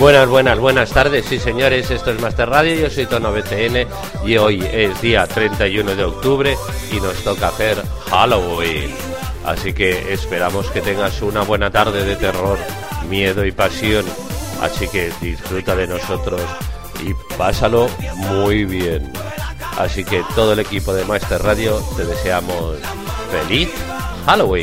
Buenas tardes, sí señores, esto es Master Radio, yo soy Tono BCN y hoy es día 31 de octubre y nos toca hacer Halloween. Así que esperamos que tengas una buena tarde de terror, miedo y pasión. Así que disfruta de nosotros y pásalo muy bien. Así que todo el equipo de Master Radio te deseamos feliz Halloween.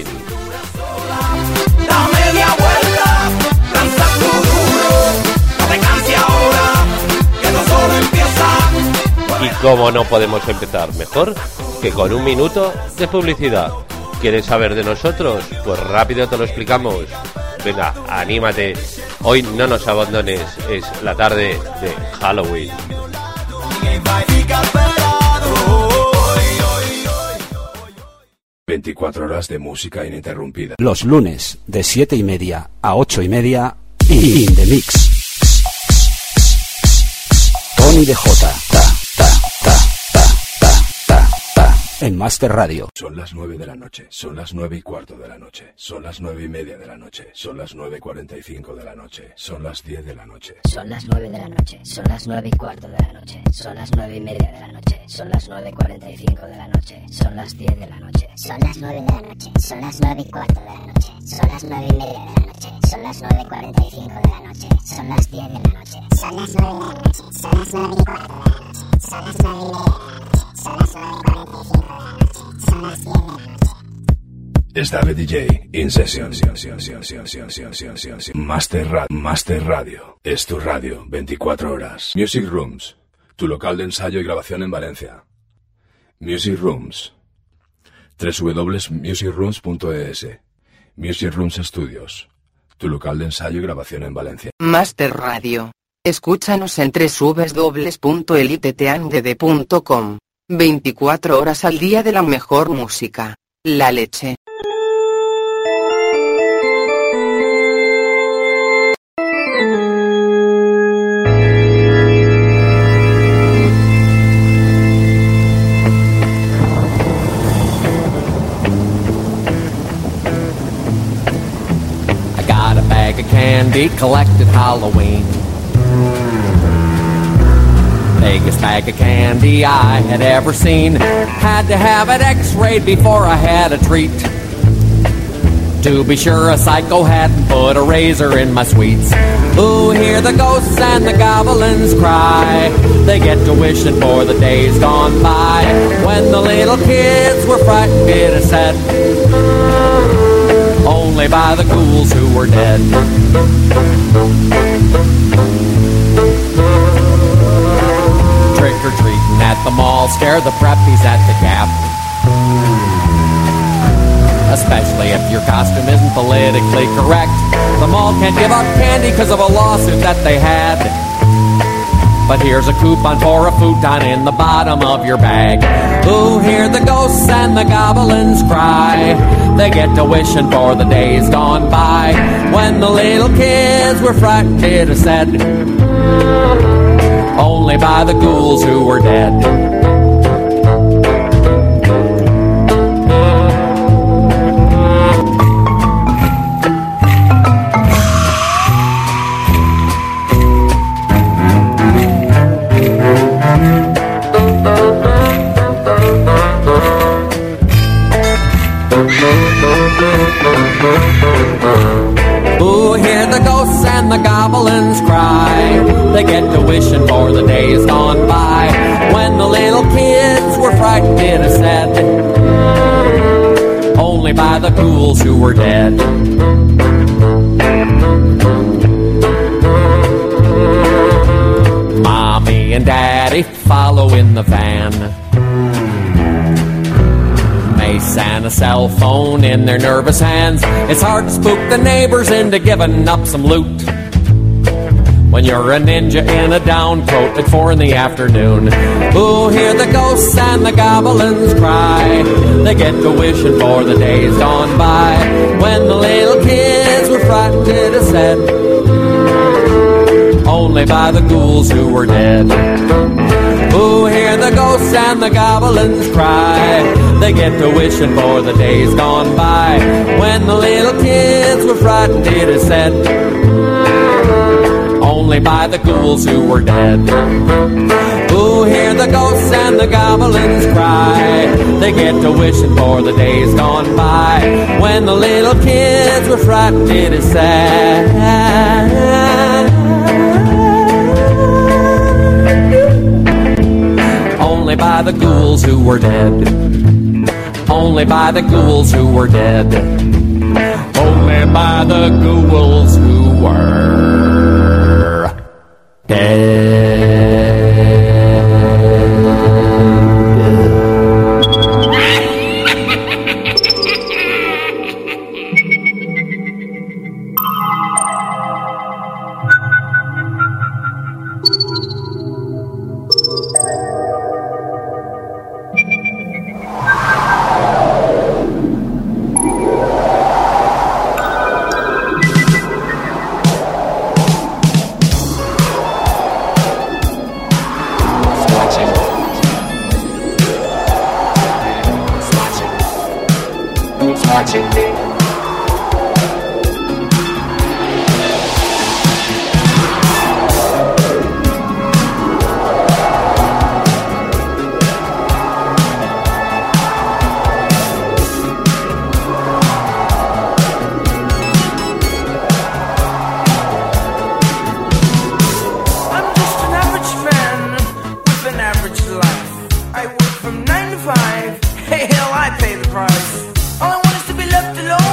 Da media vuelta, lanza tu duro, no te canses ahora, que no solo empieza. Y cómo no podemos empezar mejor que con un minuto de publicidad. ¿Quieres saber de nosotros? Pues rápido te lo explicamos. Venga, anímate. Hoy no nos abandones, es la tarde de Halloween. 24 horas de música ininterrumpida. Los lunes de 7:30 a 8:30 in the mix. Tony DJ en Master Radio. Son las 9 de la noche, son las 9:15 de la noche, son las 9:30 de la noche, son las 9:45 de la noche, son las 10 de la noche. Son las 9 de la noche, son las 9:15 de la noche, son las 9:30 de la noche, son las 9:45 de la noche, son las 10 de la noche. Son las 9 de la noche, son las 9:15 de la noche, son las 9:30 de la noche, son las 9:45 de la noche, son las 10 de la noche. Son las 9 de la noche, son las 9:15 de la noche, son las 9:30 de la noche, son las 9:45 de la noche, son las 10 de la noche. Es David DJ in session. Master Radio es tu radio 24 horas. Music Rooms, tu local de ensayo y grabación en Valencia. Music Rooms, www.musicrooms.es. Music Rooms Studios, tu local de ensayo y grabación en Valencia. Master Radio. Escúchanos en www.eliteteandede.com. 24 horas al día de la mejor música. La leche. I got a bag of candy collected Halloween. Biggest bag of candy I had ever seen. Had to have it x-rayed before I had a treat. To be sure, a psycho hadn't put a razor in my sweets. Ooh, hear the ghosts and the goblins cry. They get to wishing for the days gone by, when the little kids were frightened, it is said, only by the ghouls who were dead. Trick-or-treating at the mall, scare the preppies at the Gap. Especially if your costume isn't politically correct. The mall can't give out candy because of a lawsuit that they had. But here's a coupon for a futon in the bottom of your bag. Ooh, hear the ghosts and the goblins cry. They get to wishing for the days gone by, when the little kids were frightened, it is said, only by the ghouls who were dead. Ooh, hear the ghosts and the goblins cry. They get to wishing for the days gone by, when the little kids were frightened, it is said, only by the ghouls who were dead. Mommy and Daddy follow in the van. Mace and a cell phone in their nervous hands. It's hard to spook the neighbors into giving up some loot, when you're a ninja in a down coat at 4 PM. Ooh, hear the ghosts and the goblins cry. They get to wishing for the days gone by, when the little kids were frightened, it is said, only by the ghouls who were dead. Ooh, hear the ghosts and the goblins cry. They get to wishing for the days gone by, when the little kids were frightened, it is said, only only by the ghouls who were dead. Who hear the ghosts and the goblins cry, they get to wishing for the days gone by, when the little kids were frightened, it is sad. Only by the ghouls who were dead. Only by the ghouls who were dead. Only by the ghouls who were dead. Hey, hell, I pay the price. All I want is to be left alone.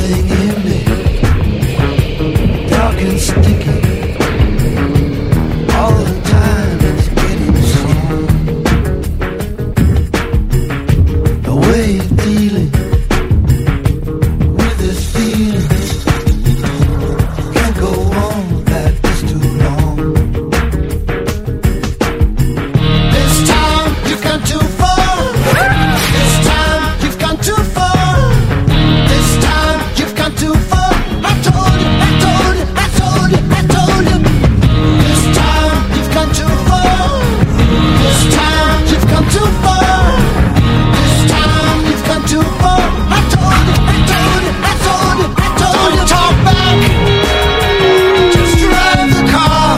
something in me, dark and sticky. All the time it's getting slow. The way you're dealing with this feeling, can't go on like this too long. This time you've gone too far. This time you've gone too far. This time you've gone too far. I told you, I told you, I told you, I told you. This time you've gone too far. This time you've gone too far. This time you've gone too far. I told you, I told you, I told you, I told you. Don't talk back. Just drive the car.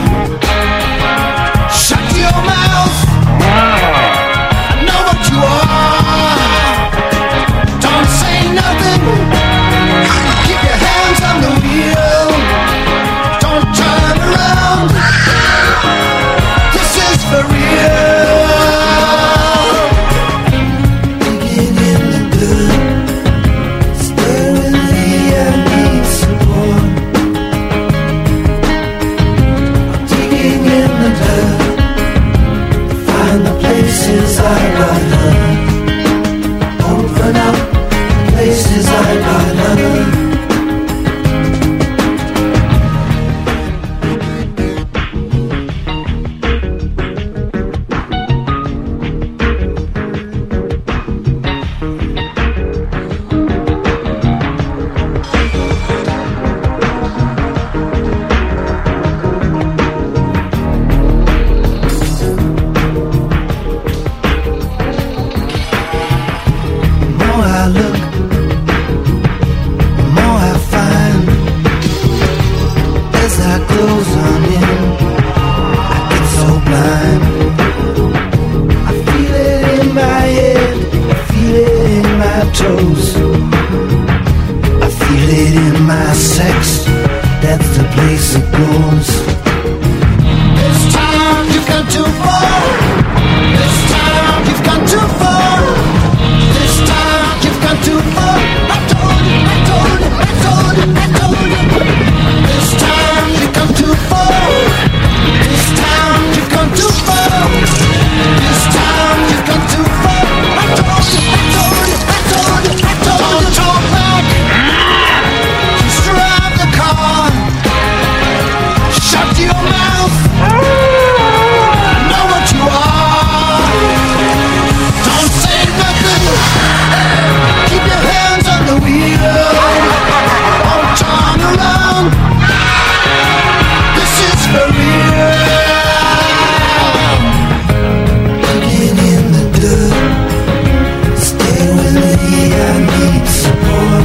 Shut your mouth. I know what you are. Don't say nothing. Keep your hands on the wheel. Don't turn around. This is for real. Digging in the dirt. Stay with me, I need support. I'm digging in the dirt. Find the places I got hurt. Open up places I got hurt. The more I look, the more I find. As I close on in, I get so blind. I feel it in my head, I feel it in my toes. I feel it in my sex, that's the place it goes. This time you've gone too far. This time you've gone too far. This time you've gone too far. I told you, I told you, I told you, I told you. This time you've gone too far. This time you've gone too far. This time you've gone too far. I told you, I told you, I told you, I told you. Don't talk back. Just drive the car. Shut your mouth. I know what you are. Don't say nothing. Keep your hands on the wheel. Don't turn around. This is for real. Digging in the dirt. Stay with me, I need support.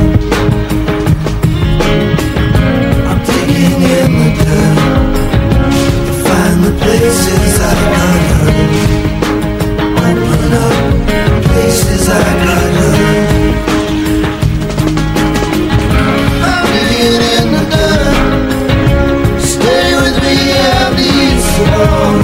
I'm digging in the dirt to find the places I got hurt. Open up places I got hurt. I'm digging in the dirt. Stay with me, I need support.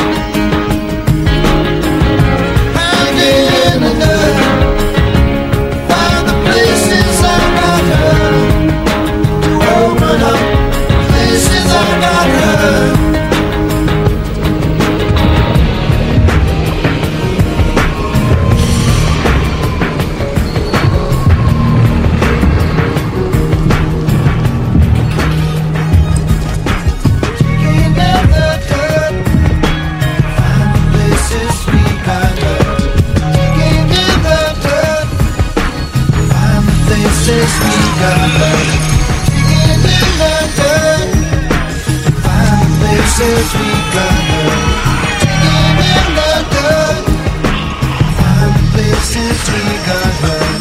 I'm digging in the dirt. Find the places I got hurt. To open up places I got hurt. Digging in the dirt. Find the places we got hurt. Digging in the dirt. Find the places we got hurt. Digging in the dirt. Find the places we got hurt. Digging in the dirt. Find the places we got hurt.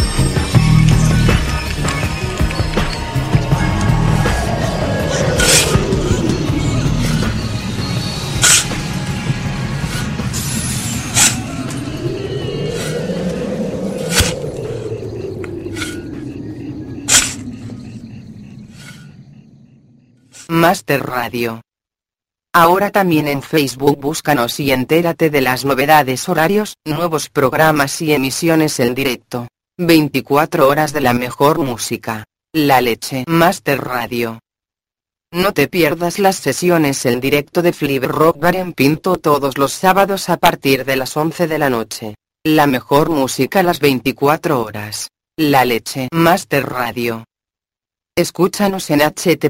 Master Radio. Ahora también en Facebook búscanos y entérate de las novedades, horarios, nuevos programas y emisiones en directo. 24 horas de la mejor música. La leche. Master Radio. No te pierdas las sesiones en directo de Flip Rock Bar en Pinto todos los sábados a partir de las 11 de la noche. La mejor música a las 24 horas. La leche. Master Radio. Escúchanos en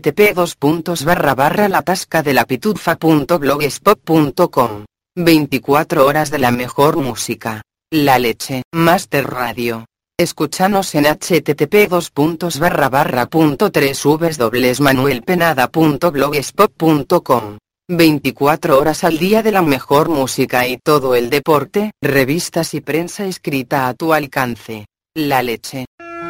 http://latascadelapitudfa.blogspot.com. 24 horas de la mejor música. La leche. Master Radio. Escúchanos en http://www.manuelpenada.blogspot.com. 24 horas al día de la mejor música y todo el deporte, revistas y prensa escrita a tu alcance. La leche.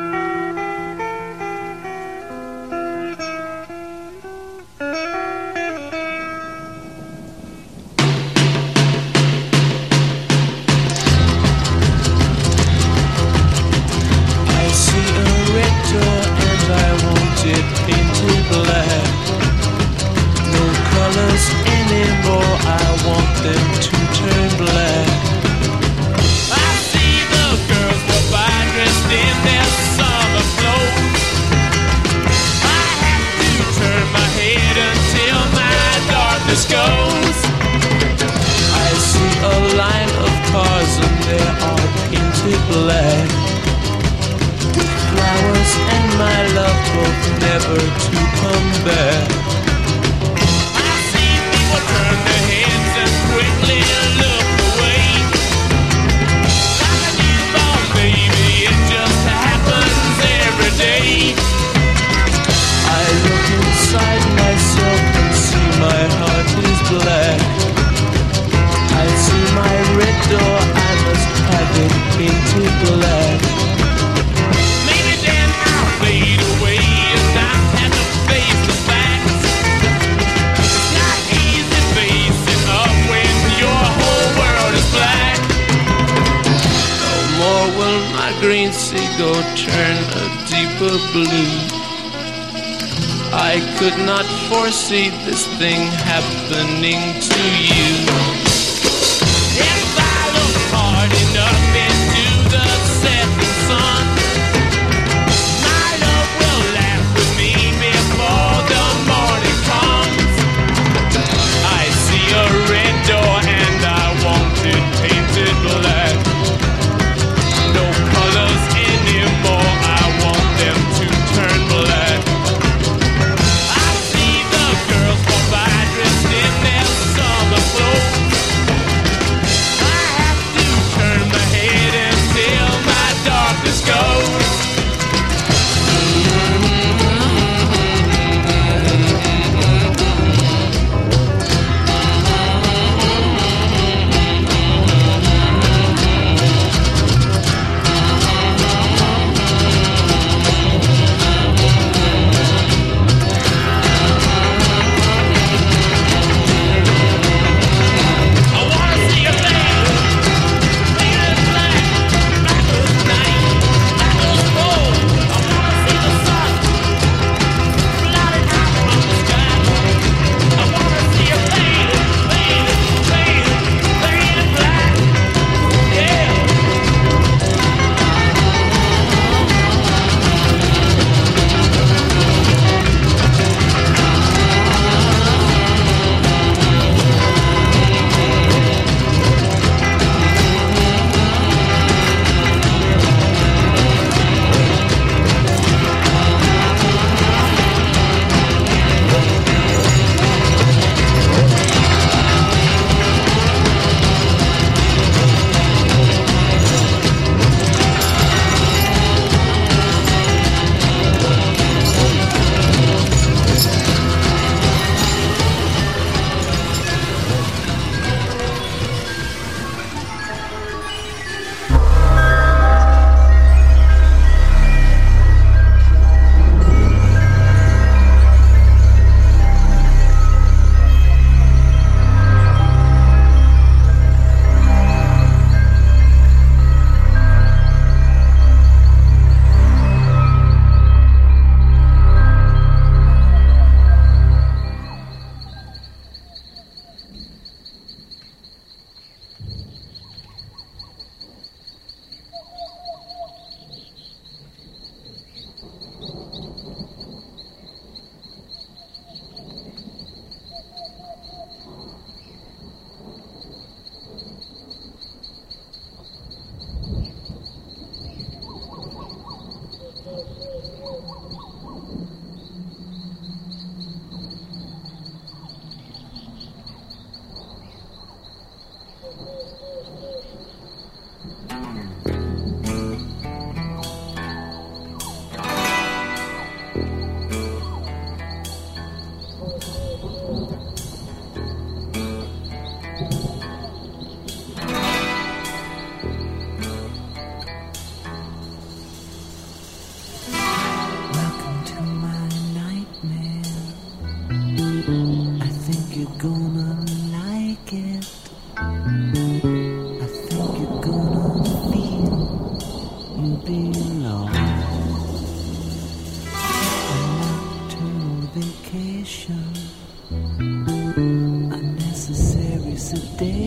I could not foresee this thing happening to you. If I look hard enough into the setting sun, my love will laugh with me before the morning comes. I see a red door and I want it painted black. No colors anymore, I want them to turn black. I see the girls go by dressed in their summer clothes.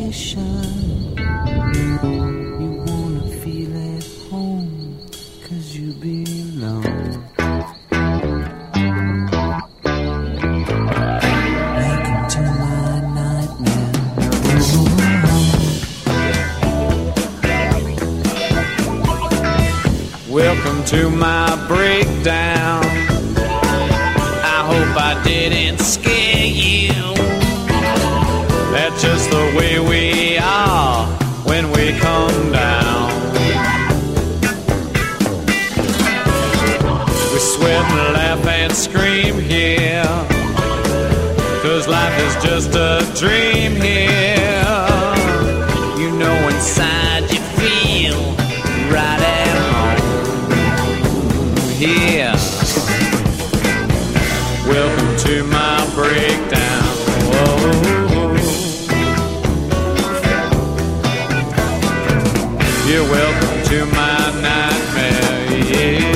station. You wanna feel at home, 'cause you belong. Welcome to my nightmare. Welcome to my breakdown. I hope I didn't scare you. That's just the way we are when we come down. We sweat and laugh and scream here, 'cause life is just a dream here. You know inside you feel right at home here. Welcome to my breakdown. Whoa. You're welcome to my nightmare, yeah.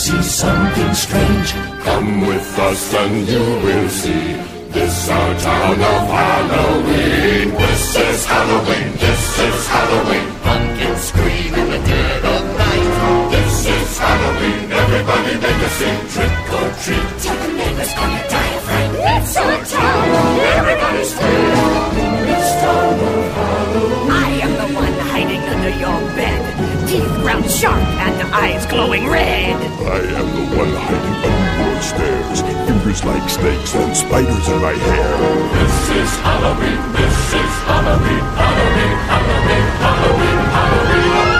see something strange. Come with us and you will see. This our town of Halloween. This is Halloween. This is Halloween. Pumpkins scream in the dead of night. This is Halloween. Everybody make a scene. Trick or treat. Tell the neighbors gonna die of fright. It's our town. Everybody scream. This town of Halloween. I am the one hiding under your bed. Teeth ground sharp and eyes glowing red. I am the one hiding under your stairs. Fingers like snakes and spiders in my hair. This is Halloween. This is Halloween. Halloween. Halloween. Halloween. Halloween.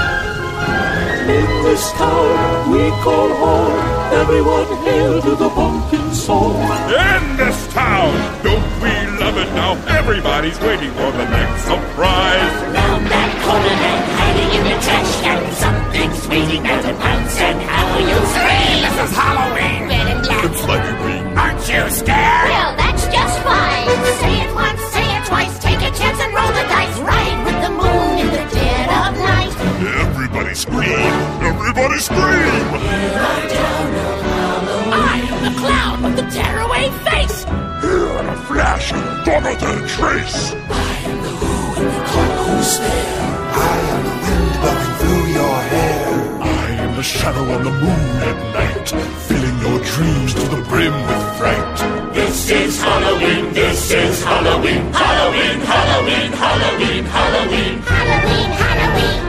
In this town we call home. Everyone hail to the pumpkin song. In this town, don't we love it now? Everybody's waiting for the next surprise. Round that corner and hiding in the trash can, something's waiting there to pounce, and how you scream. This is Halloween. Red and black. It's like a green. Aren't you scared? Well, that's just fine. Say it once, say it twice. Take a chance and roll the dice. Ride with the moon in the dead of night. Everybody scream. Everybody scream. In our town of Halloween. I am the clown with the tearaway face. Here in a flash, gone without a trace. I am the who in the call who's there. I am the wind blowing through your hair. I am the shadow on the moon at night, filling your dreams to the brim with fright. This is Halloween, this is Halloween. Halloween, Halloween, Halloween, Halloween. Halloween, Halloween.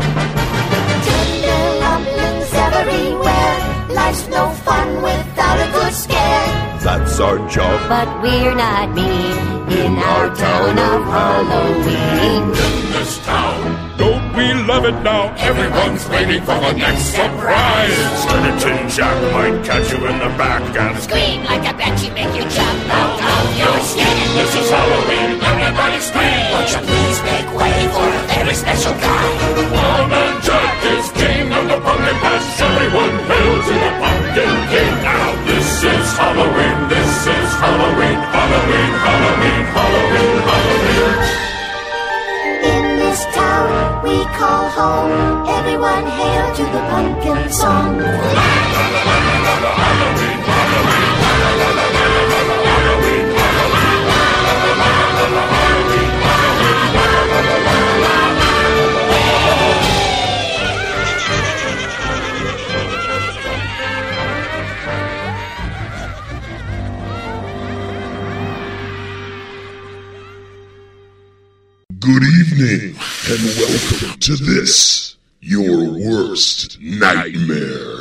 Tender rumblings everywhere. Life's no fun without a good scare. That's our job. But we're not mean in our town of Halloween. In this town, Don't we love it now? everyone's waiting for the next surprise. Skeleton Jack might catch you in the back and Scream like a banshee, make you jump out of your skin. this is Halloween, everybody scream. Won't you please make way for a very special guy? One man Jack is king of the pumpkin patch. Everyone hail to the pumpkin king. Now this is Halloween, this is Halloween. Halloween, Halloween, Halloween, Halloween. In this town we call home. Everyone hail to the pumpkin song. Good evening, and welcome to this, your worst nightmare.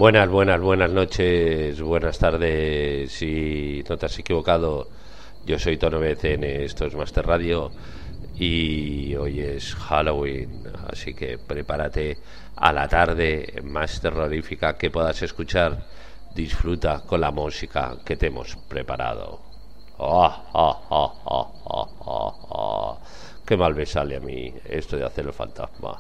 Buenas noches, buenas tardes. Si no te has equivocado, yo soy Tono BCN, esto es Master Radio y hoy es Halloween, así que prepárate a la tarde más terrorífica que puedas escuchar. Disfruta con la música que te hemos preparado. Qué mal me sale a mí esto de hacer el fantasma.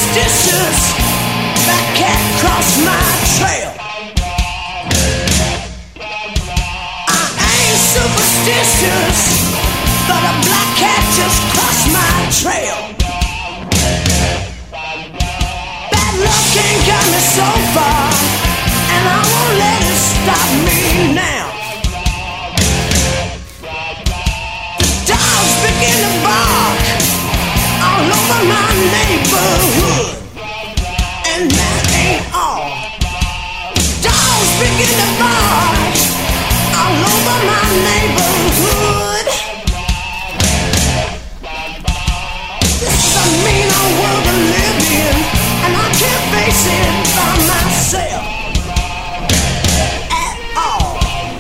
superstitious. That cat crossed my trail. I ain't superstitious, but a black cat just crossed my trail. Bad luck ain't got me so far, and I won't let it stop me now. The dogs begin to bark all over my neighborhood, and that ain't all. Dogs begin to bark all over my neighborhood. This is a mean old world to live in, and I can't face it by myself at all.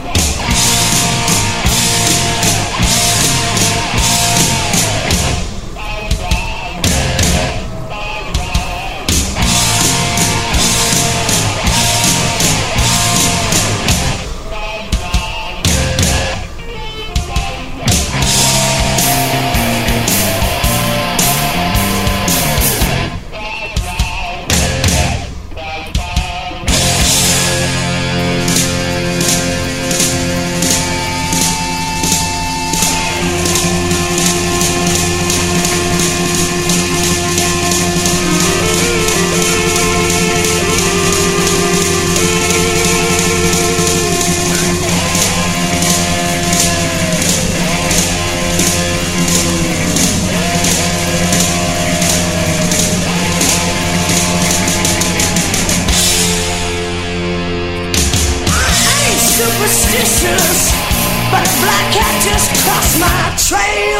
Superstitious, but a black cat just crossed my trail.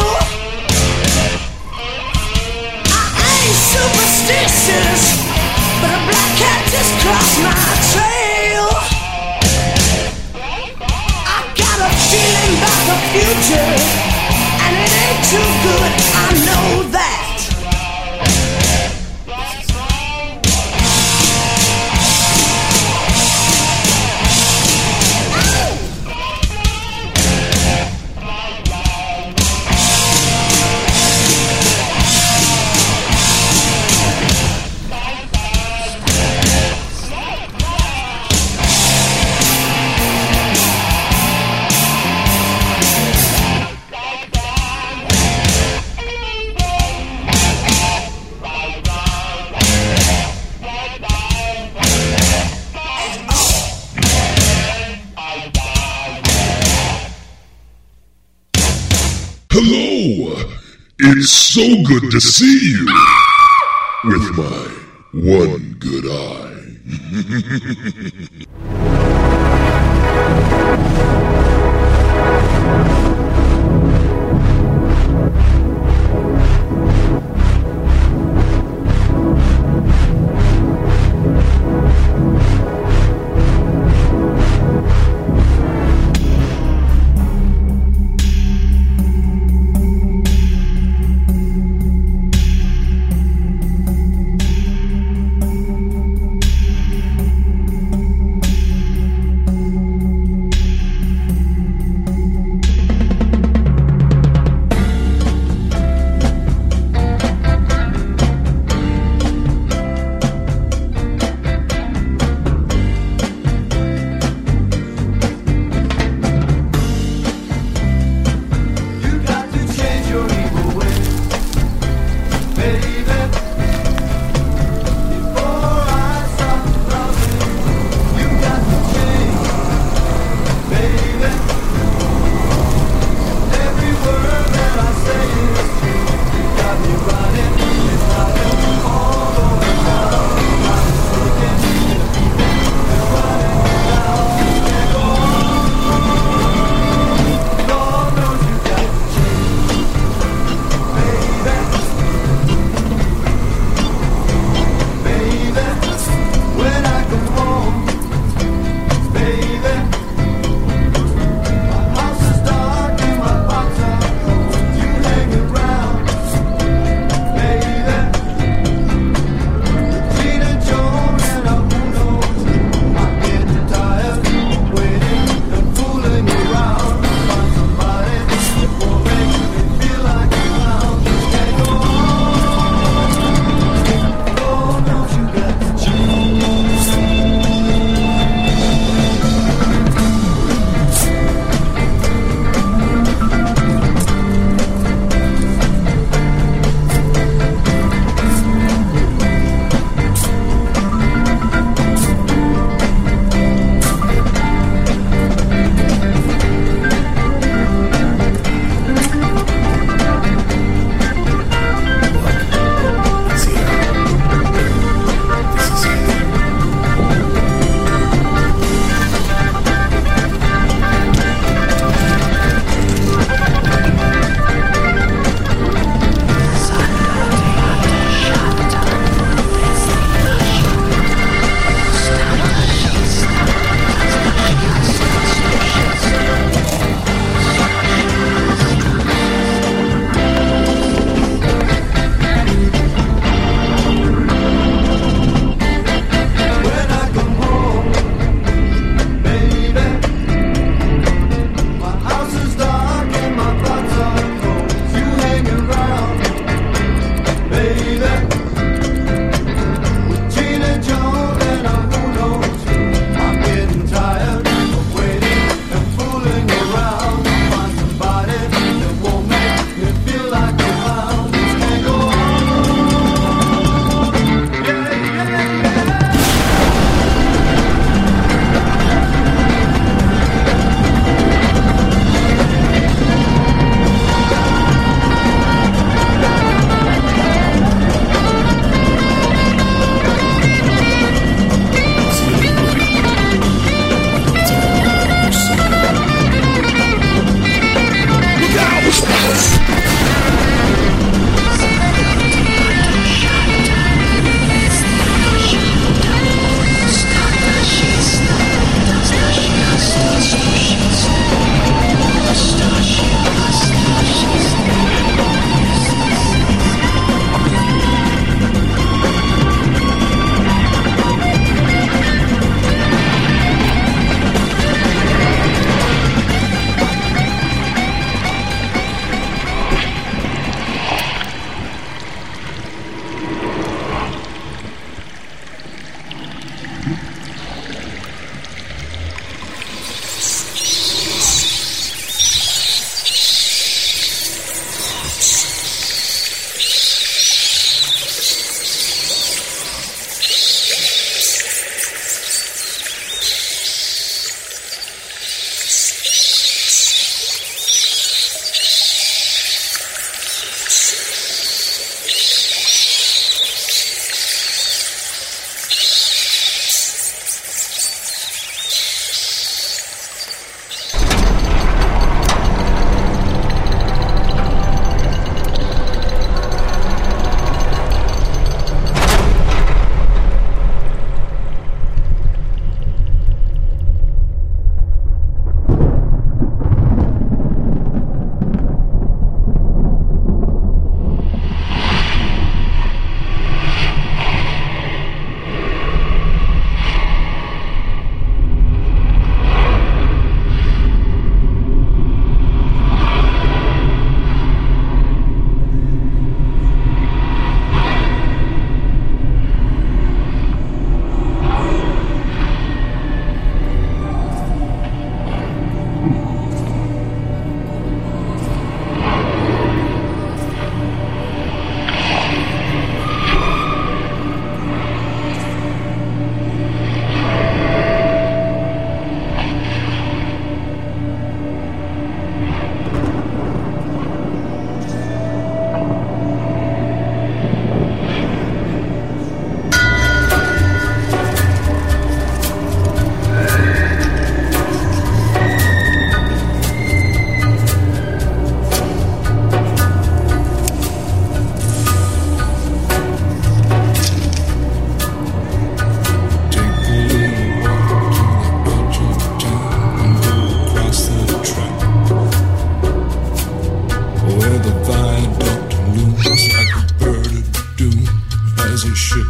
I ain't superstitious, but a black cat just crossed my trail. I got a feeling about the future, and it ain't too good, I know that. Hello! It's so good to see you! With my one good eye.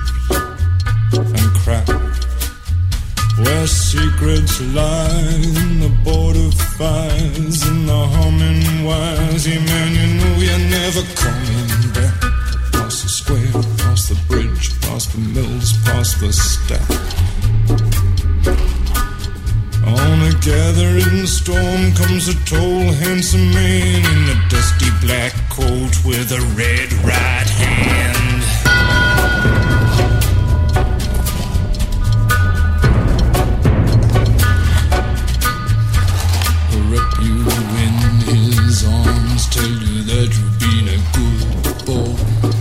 and crack, where secrets lie in the border fires and the humming wires. Yeah, man, you know you're never coming back. Past the square, past the bridge, past the mills, past the stack. On a gathering storm comes a tall, handsome man in a dusty black coat with a red right hand. He'll wrap you in his arms, tell you that you've been a good boy.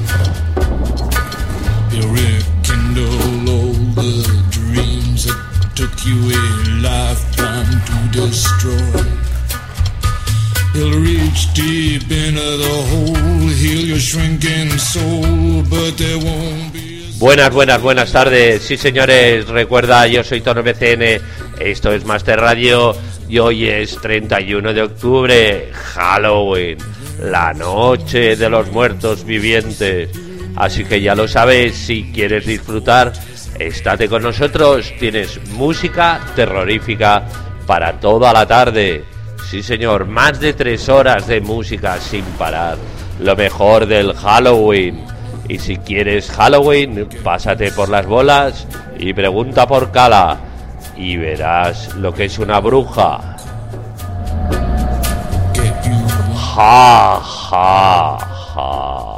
He'll rekindle all the dreams that took you a lifetime to destroy. He'll reach deep into the hole, heal your shrinking soul, but there won't be. Buenas tardes, sí señores, recuerda, yo soy Tono BCN, esto es Master Radio y hoy es 31 de octubre, Halloween, la noche de los muertos vivientes, así que ya lo sabes, si quieres disfrutar, estate con nosotros, tienes música terrorífica para toda la tarde, sí señor, más de 3 horas de música sin parar, lo mejor del Halloween. Y si quieres Halloween, pásate por las bolas y pregunta por Cala y verás lo que es una bruja. Ja, ja, ja.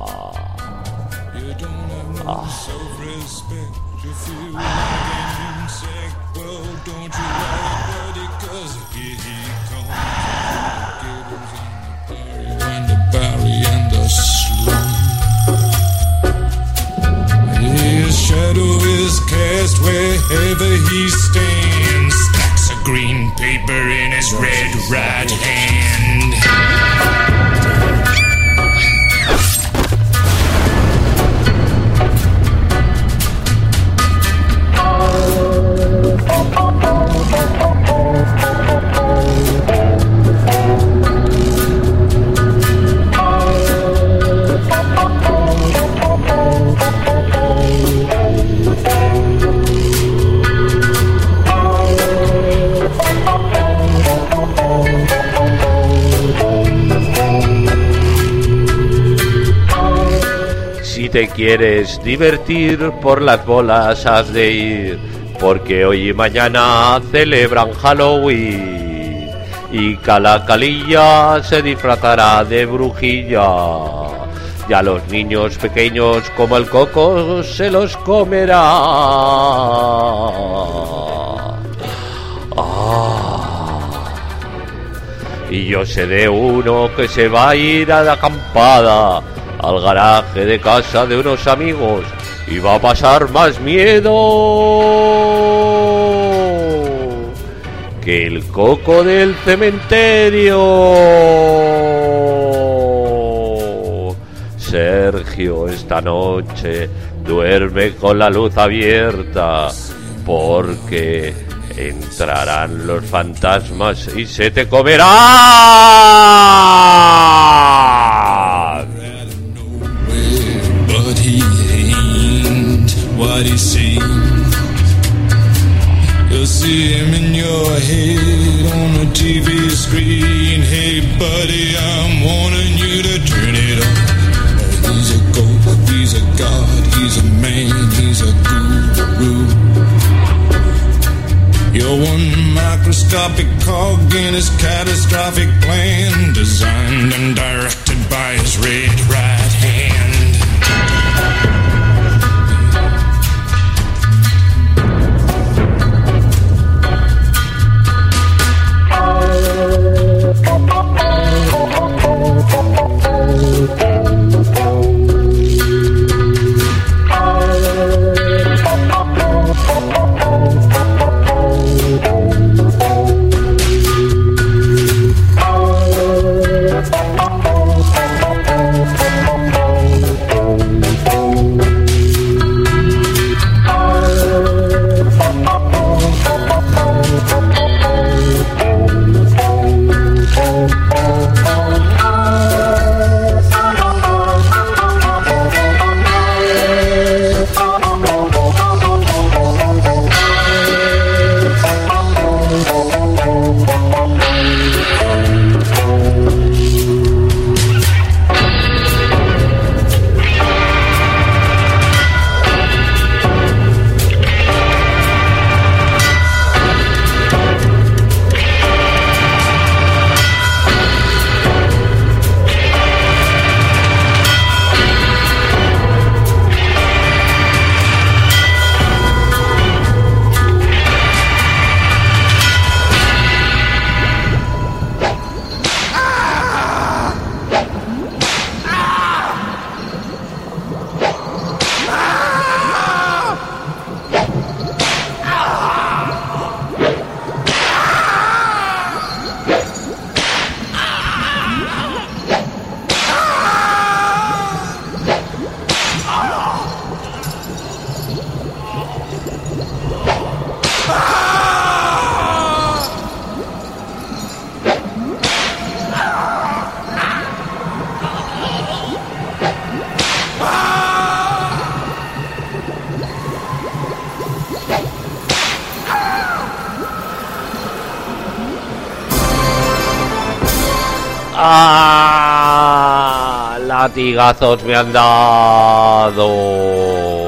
Shadow is cast wherever he stands. Stacks of green paper in his red right hand. Si te quieres divertir, por las bolas has de ir, porque hoy y mañana celebran Halloween y Calacalilla se disfrazará de brujilla. Y a los niños pequeños como el coco se los comerá. Y yo sé de uno que se va a ir a la acampada al garaje de casa de unos amigos y va a pasar más miedo que el coco del cementerio. Sergio, esta noche duerme con la luz abierta porque entrarán los fantasmas y se te comerán. But he ain't what he seems. You'll see him in your head on a TV screen. Hey buddy, I'm warning you to turn it on. He's a ghost, he's a god, he's a man, he's a guru. You're one microscopic cog in his catastrophic plan, designed and directed by his red right hand. ¡Ah! Latigazos me han dado.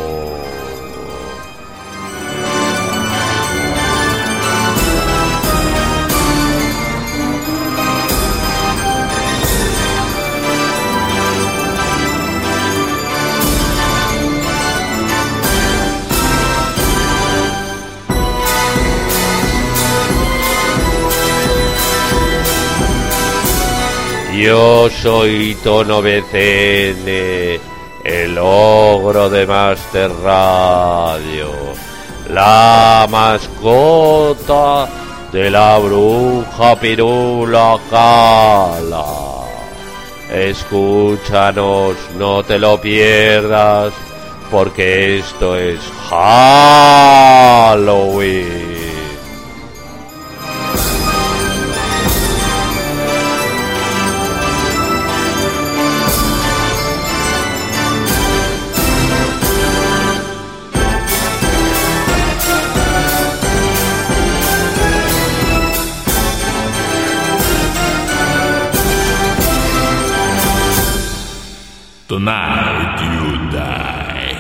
Yo soy Tono BCN, el ogro de Master Radio, la mascota de la bruja Pirula Cala. Escúchanos, no te lo pierdas, porque esto es Halloween. Tonight you die.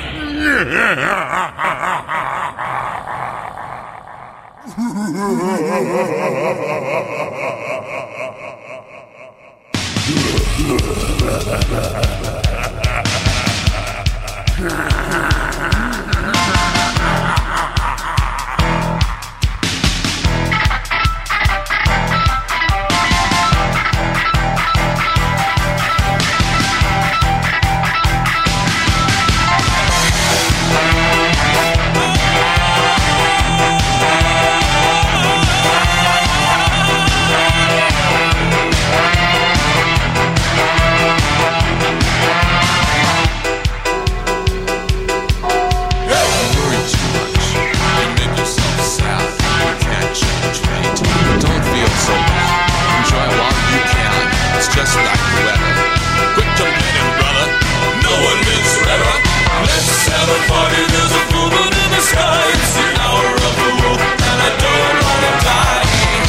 Just like the weather. Quit complaining, brother. No one lives forever. Let's have a party. There's a full moon in the sky. It's the hour of the wolf, and I don't wanna die.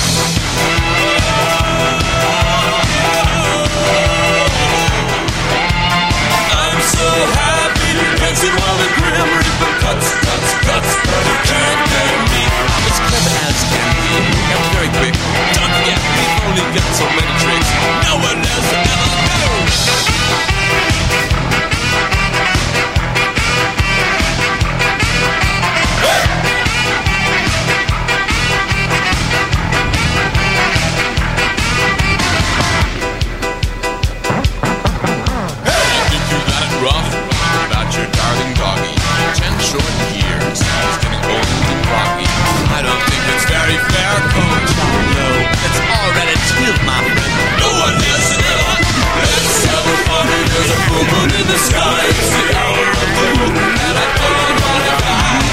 I'm so happy, dancing while the grim reaper cuts. But you can't get me. I'm as clever as can be. I'm very quick. Don't forget, we've only got so many tricks. No one else will ever know. Your darling doggy, 10 short years, he's getting old and rocky. I don't think it's very fair, coach. No, it's already killed my friend. No one else ever. Let's have a party. There's a full moon in the sky. It's the hour of the moon, and I don't wanna die.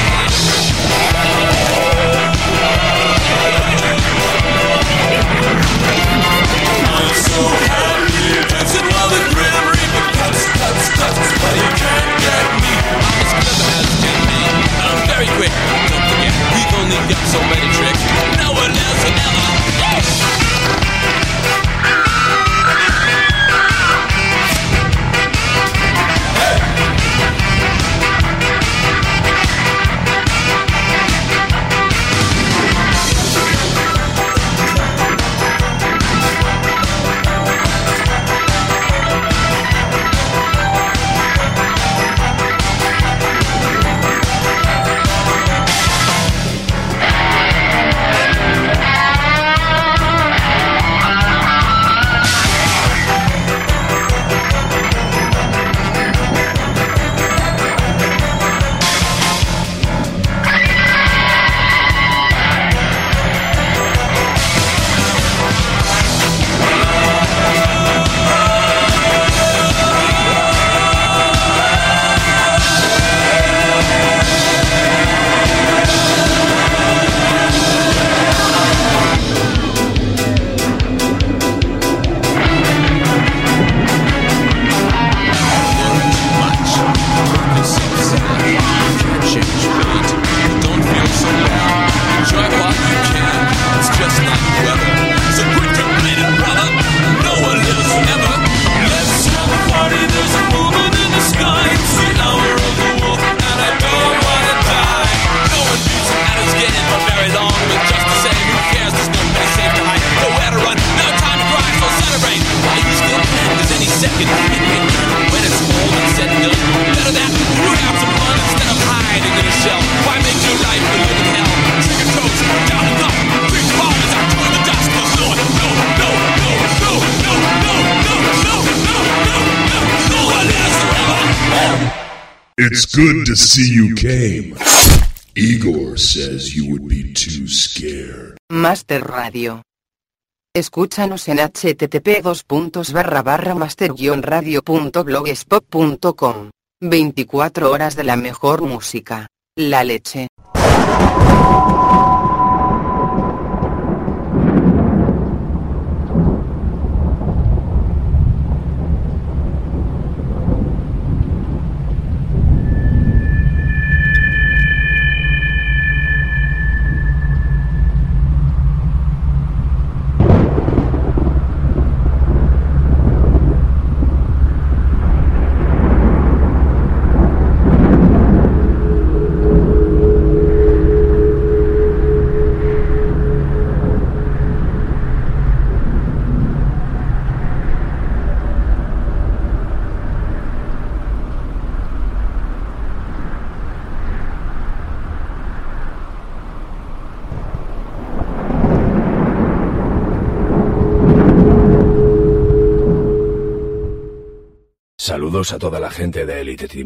I'm so happy, dancing while the grim reaper cuts. But you can't get me. I'm as clever as can be. I'm very quick. Don't forget, we've only got so many tricks. No one else will ever. It's good to see you came. Igor says you would be too scared. Master Radio. Escúchanos en http://master-radio.blogspot.com. 24 horas de la mejor música. La leche. Saludos a toda la gente de Elite Team.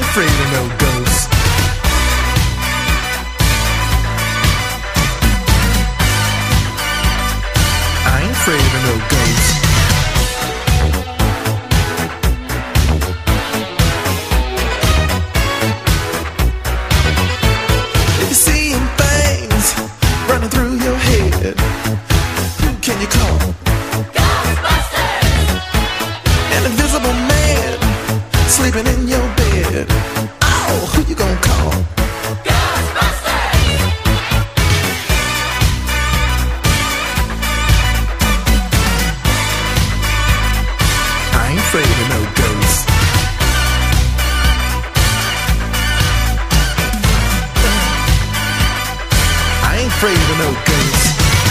afraid of no ghosts. I ain't afraid of no ghosts. If you're seeing things running through your head, who can you call? Ghostbusters! An invisible man sleeping in your bed. Oh, who you gonna call? Ghostbusters! I ain't afraid of no ghosts. I ain't afraid of no ghosts.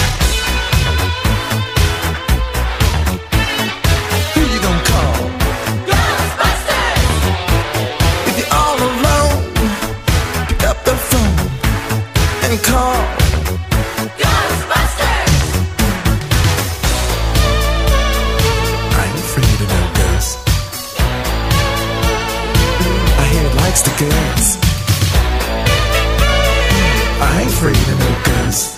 Who you gonna call? Ghostbusters! If you're all alone, pick up the phone and call Ghostbusters! I ain't afraid of no ghosts. I hear it likes the girls. I ain't afraid of no ghosts.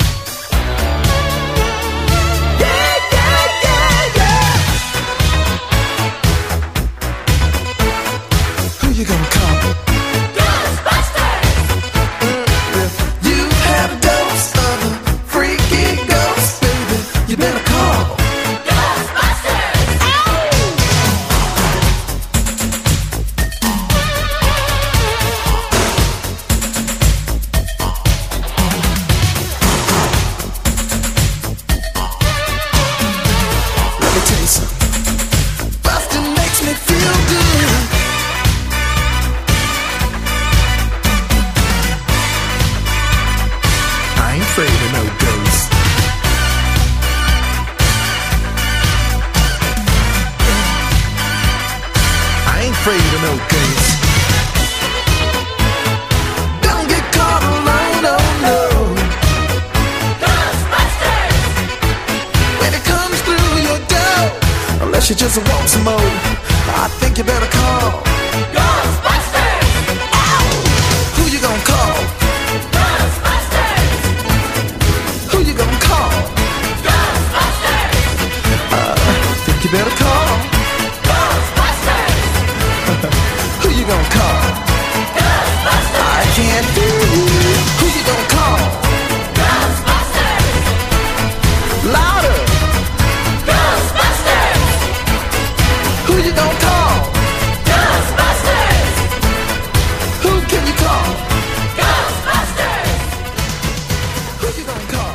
Yeah, yeah, yeah, yeah. Who you gonna call? Ghostbusters! If you have a dose of a freaky ghost, baby, you better call Ghostbusters! Let me tell you something. Bustin' makes me feel good. I ain't afraid of no ghosts. I ain't afraid of no ghosts. Don't get caught alone, oh no. Ghostbusters! When it comes through your door, unless you just want some more, I think you better call Ghostbusters! Ow! Who you gonna call? Ghostbusters! Who you gonna call? Ghostbusters! Think you better call Ghostbusters! Who you gonna call? Ghostbusters! I can't hear you. Who you gonna call? Ghostbusters! Louder! Ghostbusters! Who you gonna call? Ghostbusters! Who can you call? Ghostbusters! Who you gonna call?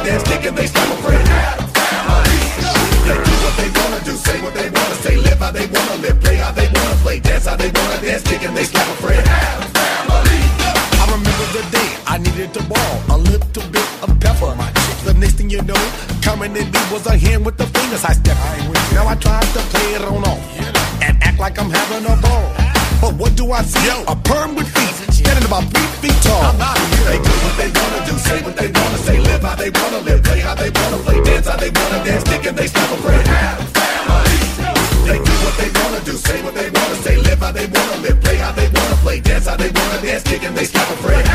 dance, kick and they stop afraid. They do what they wanna do, say what they wanna say, live how they wanna live, play how they wanna play, dance how they wanna dance, kick and they stop afraid. I remember the day I needed to ball a little bit of pepper. The next thing you know, coming in me was a hand with the fingers I stepped. Now I tried to play it on off and act like I'm having a ball. But what do I see? A perm with feet, standing about 3 feet tall. They do what they wanna do, say what they wanna say, live how they wanna live, play how they wanna play, dance how they wanna dance, kick and they stop afraid. They do what they wanna do, say what they wanna say, live how they wanna live, play how they wanna play, dance how they wanna dance, kick and they stop afraid.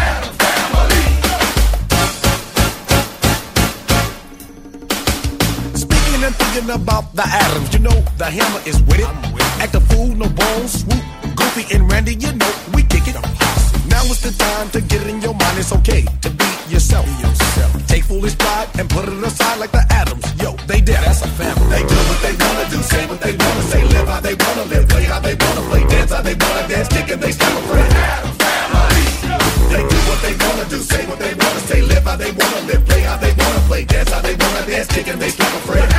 Speaking and thinking about the atoms, you know the hammer is with it. Act a fool, no bones, swoop. Goofy and Randy, you know we kick it. Now is the time to get it in your mind. It's okay to be yourself. Take foolish pride and put it aside like the atoms. Yo, they did. That's a family. They do what they wanna do, say what they wanna say, live how they wanna live, play how they wanna play, dance how they wanna dance, kick and they stop afraid. They do what they wanna do, say what they wanna say, live how they wanna live, play how they wanna play, dance how they wanna dance, kick and they stop afraid.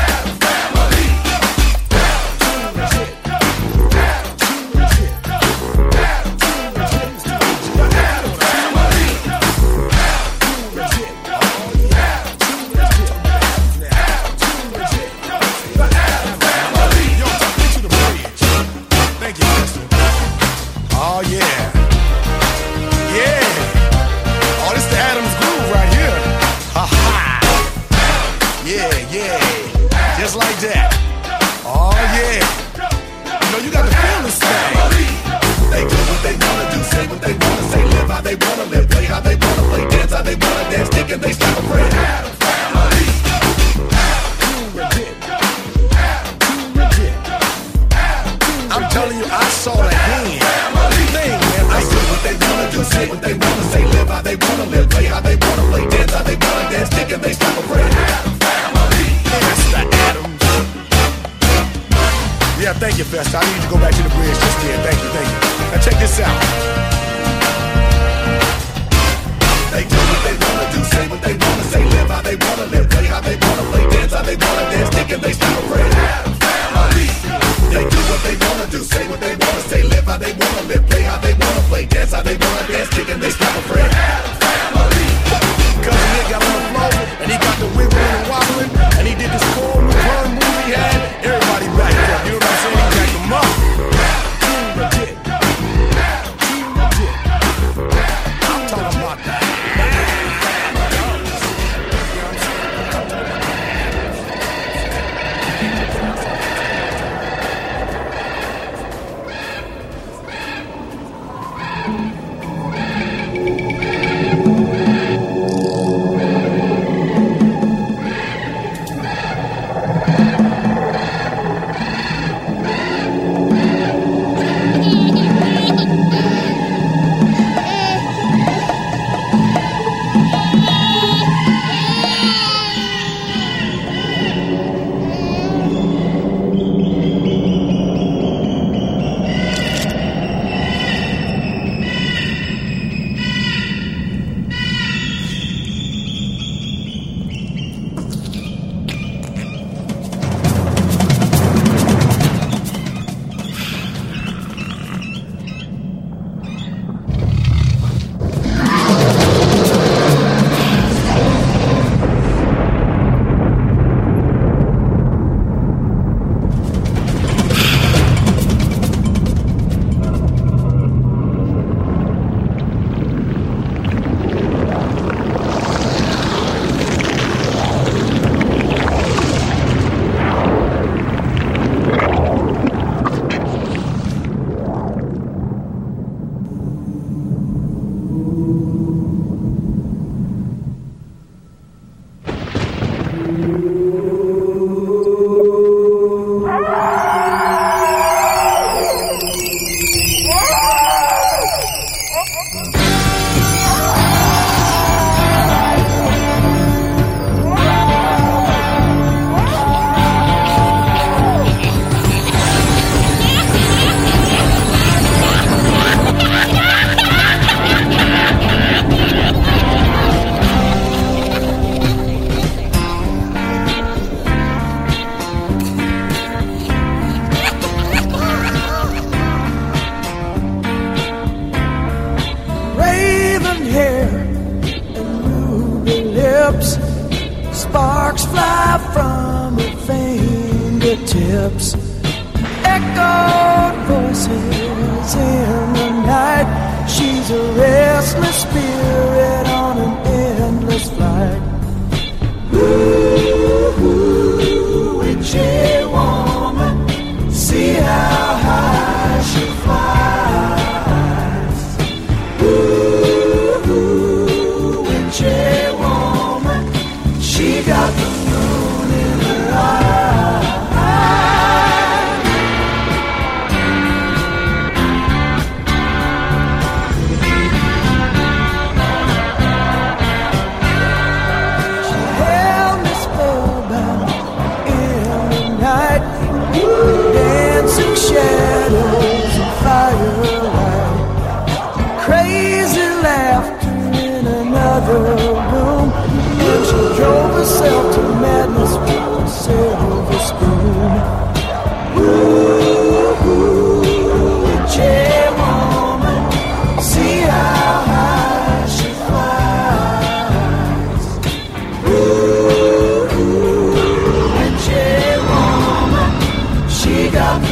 Oh yeah, yeah. Oh, this the Adams groove right here. Ha ha. Yeah, yeah. Just like that. Oh yeah. You know you got to feel this thing. They do what they wanna do, say what they wanna say, live how they wanna live, play how they wanna play, dance how they wanna dance, kick and they stop afraid. I'm telling you, I saw the hand. Thing, man. They do what they wanna do, say what they wanna say, live how they wanna live, play how they wanna play, dance how they wanna dance, kick and they stop afraid. That's the Adams. Yeah, thank you, Festa. I need to go back to the bridge just then. Thank you, thank you. Now check this out. They do what they wanna do, say what they wanna say, live how they wanna live, play how they wanna play, dance how they wanna dance, kick and they stop afraid. They do what they wanna do, say what they wanna say, live how they wanna live, play how they wanna play, dance how they wanna dance, kick and they stop afraid. Cause Nick got on the floor, and he got the wiggling and wobbling, and he did this cool new turn move he had. Everybody backed up, you know what I'm saying? He jacked them up. I'm talking about that. sparks fly from her fingertips. Echoed voices in the night. She's a restless spirit on an endless flight. Ooh, witchy woman, see how high she flies. Ooh, witchy woman, she got the moon in her eye. Shadows and firelight, crazy laughter in another room, and she drove herself to madness with a silver spoon. Ooh, witchy woman, see how high she flies. Ooh, witchy woman, she got the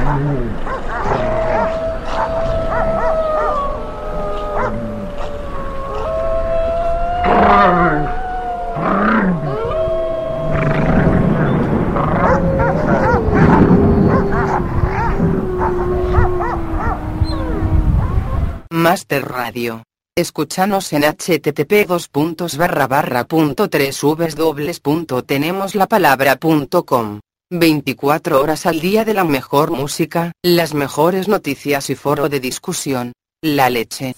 Master Radio. Escúchanos en http://www.tenemoslapalabra.com. 24 horas al día de la mejor música, las mejores noticias y foro de discusión. La leche.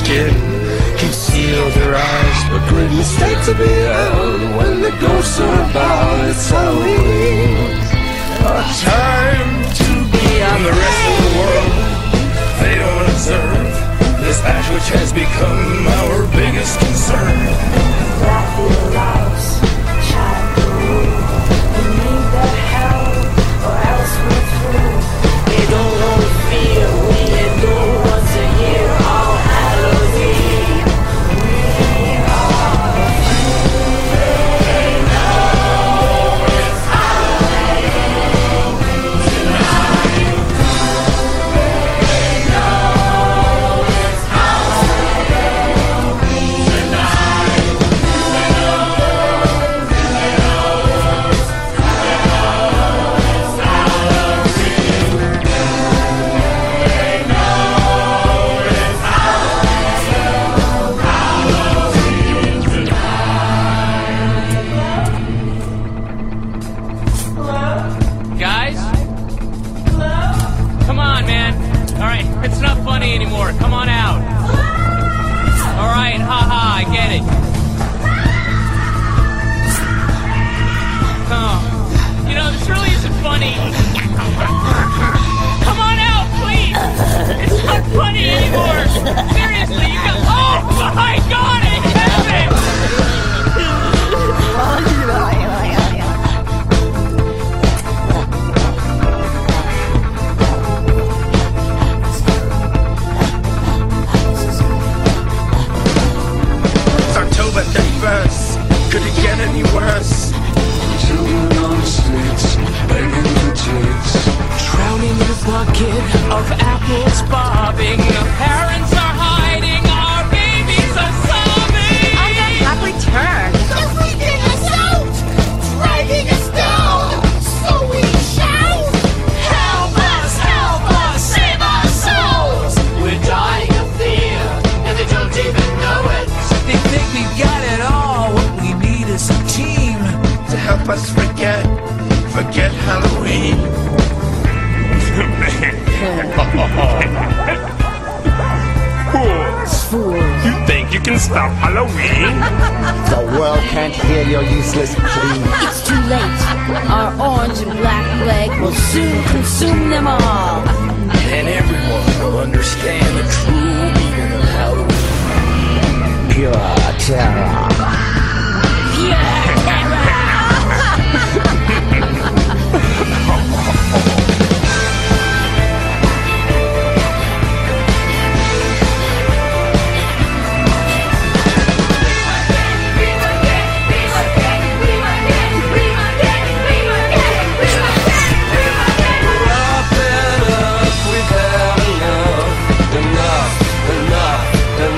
skin, conceal their eyes. A great mistake to be out when the ghosts are about. It's Halloween, a time to be on the rest of the world. They don't observe this act which has become our biggest concern. Raphael loves childhood. We need the help, or else we're through. We don't know fear, we adore once a year on Halloween. We are free. They know it's Halloween tonight. They know it's Halloween tonight. They know it's Guys? Come on, man. Alright, it's not funny anymore. Come on out. Alright, haha, I get it. Oh, you know, this really isn't funny. Come on out, please. It's not funny anymore. Seriously, you got... Oh, my God, I have it. It's October 31st. Could it get any worse? Children on the streets, begging for treats. Drowning in a bucket of apples bobbing. The parents are hiding. Our babies are sobbing. I got not returned. They're freaking us out, dragging us down. So we shout, help us, save our souls. We're dying of fear, and they don't even know it. They think we've got it all. What we need is a team to help us forget Halloween. Fools. You think you can stop Halloween? The world can't hear your useless plea. It's too late. Our orange and black plague will soon consume them all. And everyone will understand the true meaning of Halloween. Pure terror. Enough.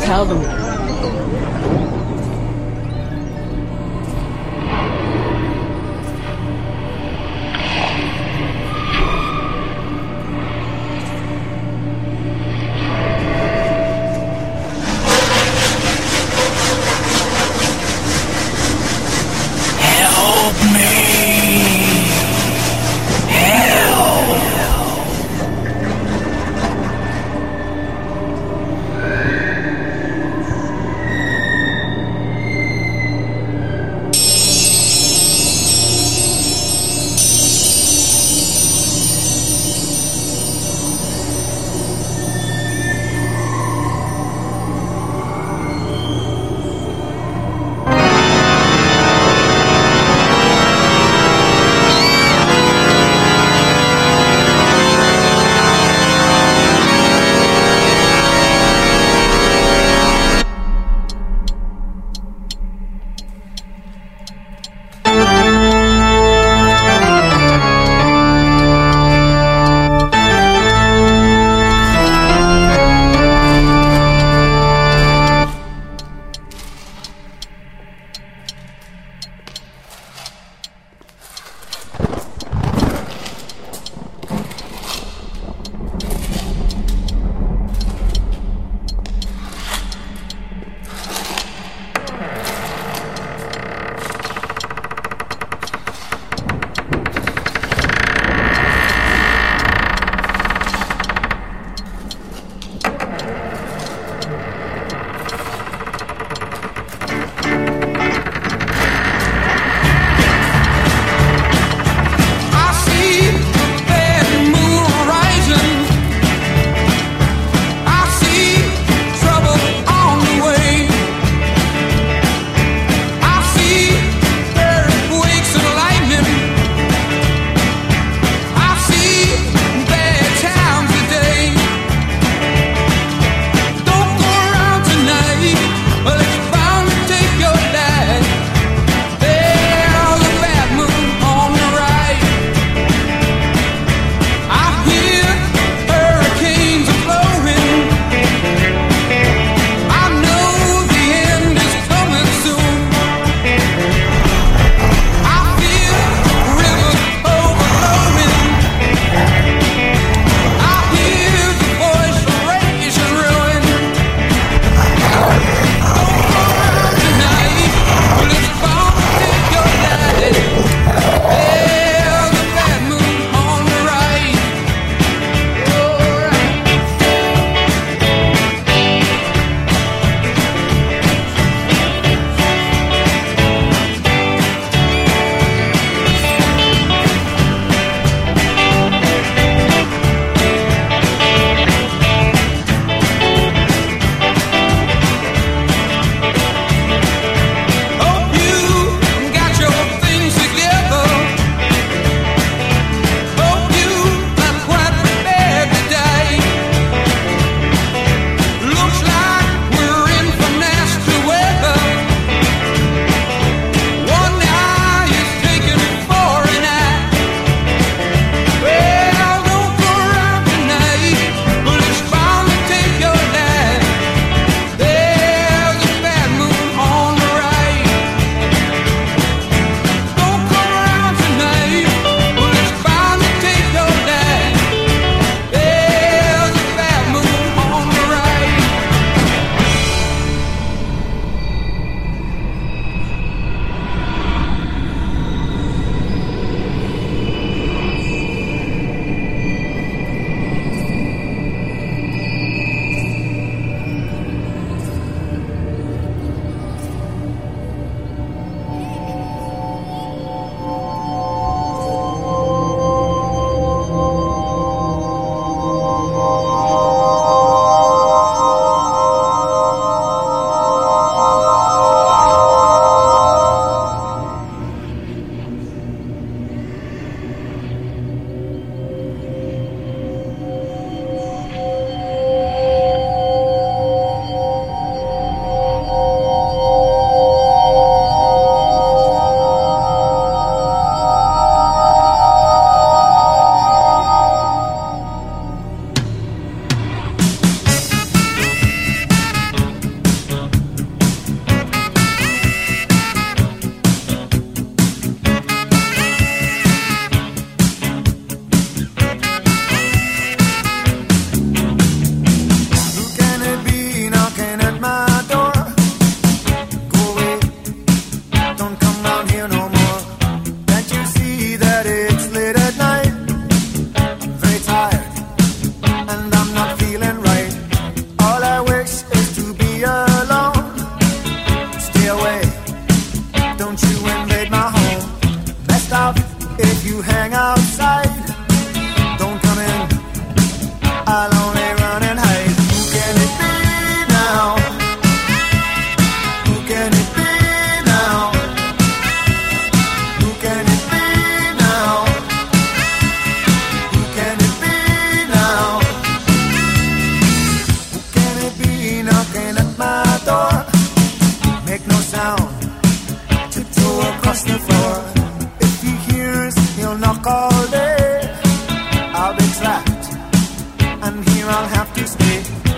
tell them.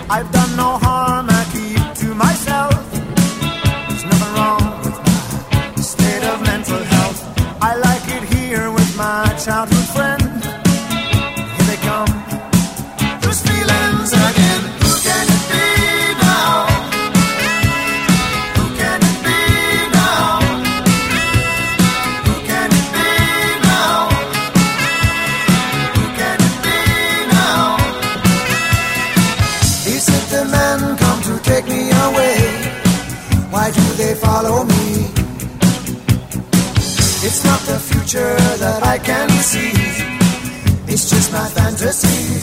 I've done no harm, I keep to myself. There's nothing wrong with my state of mental health. I like it here with my childhood friend. Here they come, those feelings again. Who can it be now? Who can it be now? Who can it be now? Who can it be now? He said the men come to take me away. Why do they follow me? It's not the future that I can see. It's just my fantasy.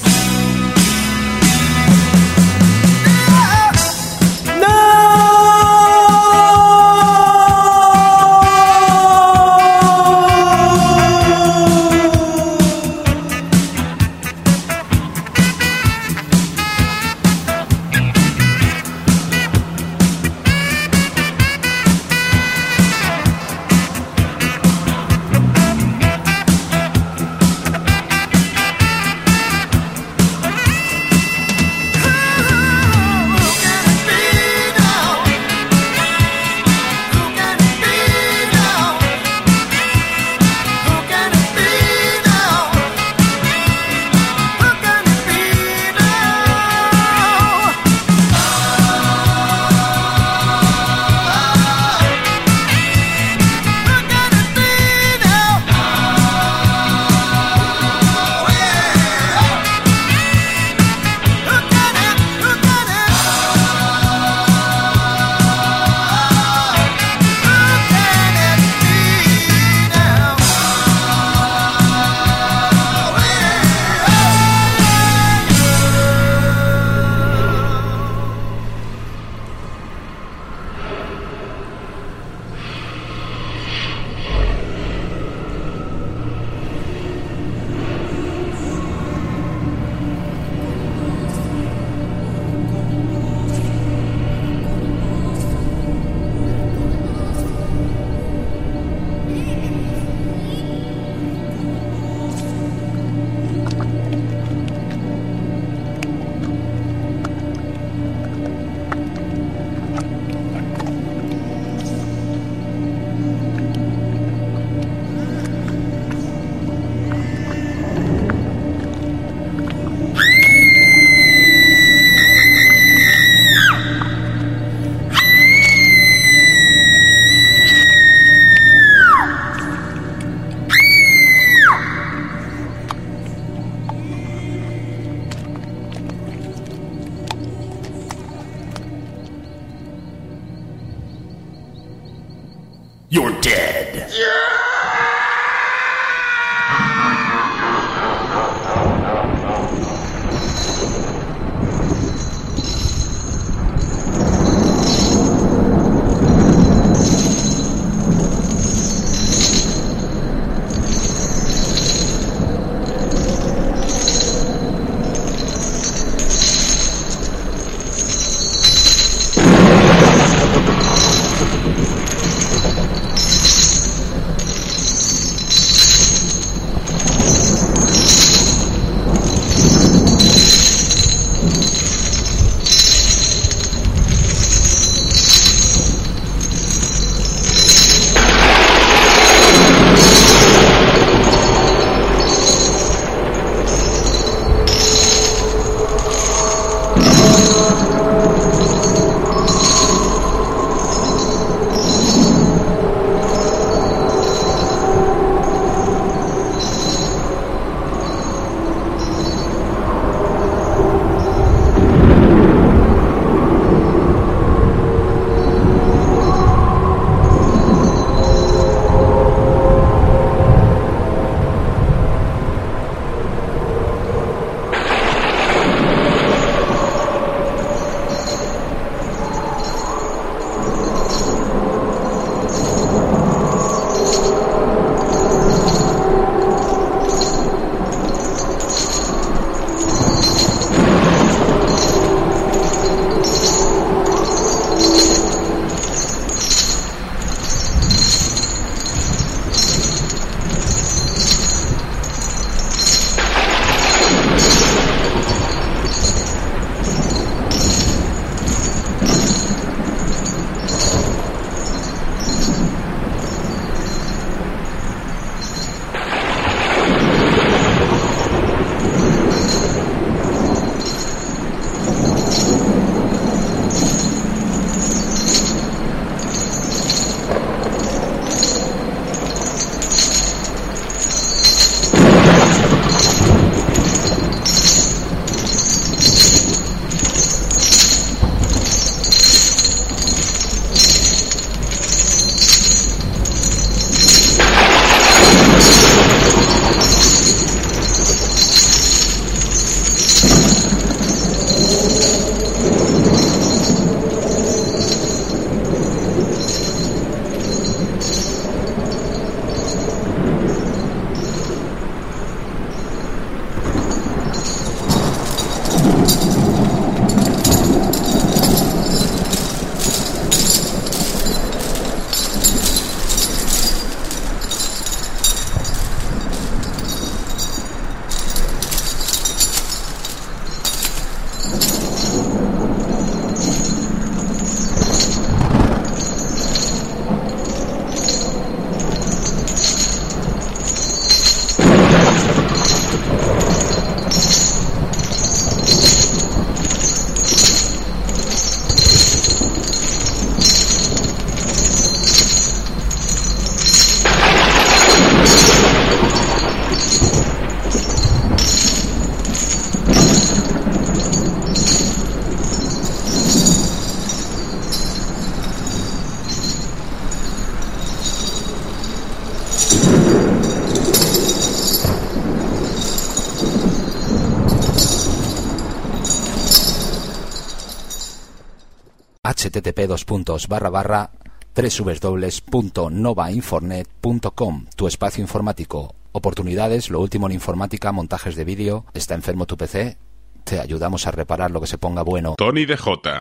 You're dead. http://www.novainfornet.com, tu espacio informático. Oportunidades, lo último en informática, montajes de vídeo. ¿Está enfermo tu PC? Te ayudamos a reparar lo que se ponga bueno. Tony DJ.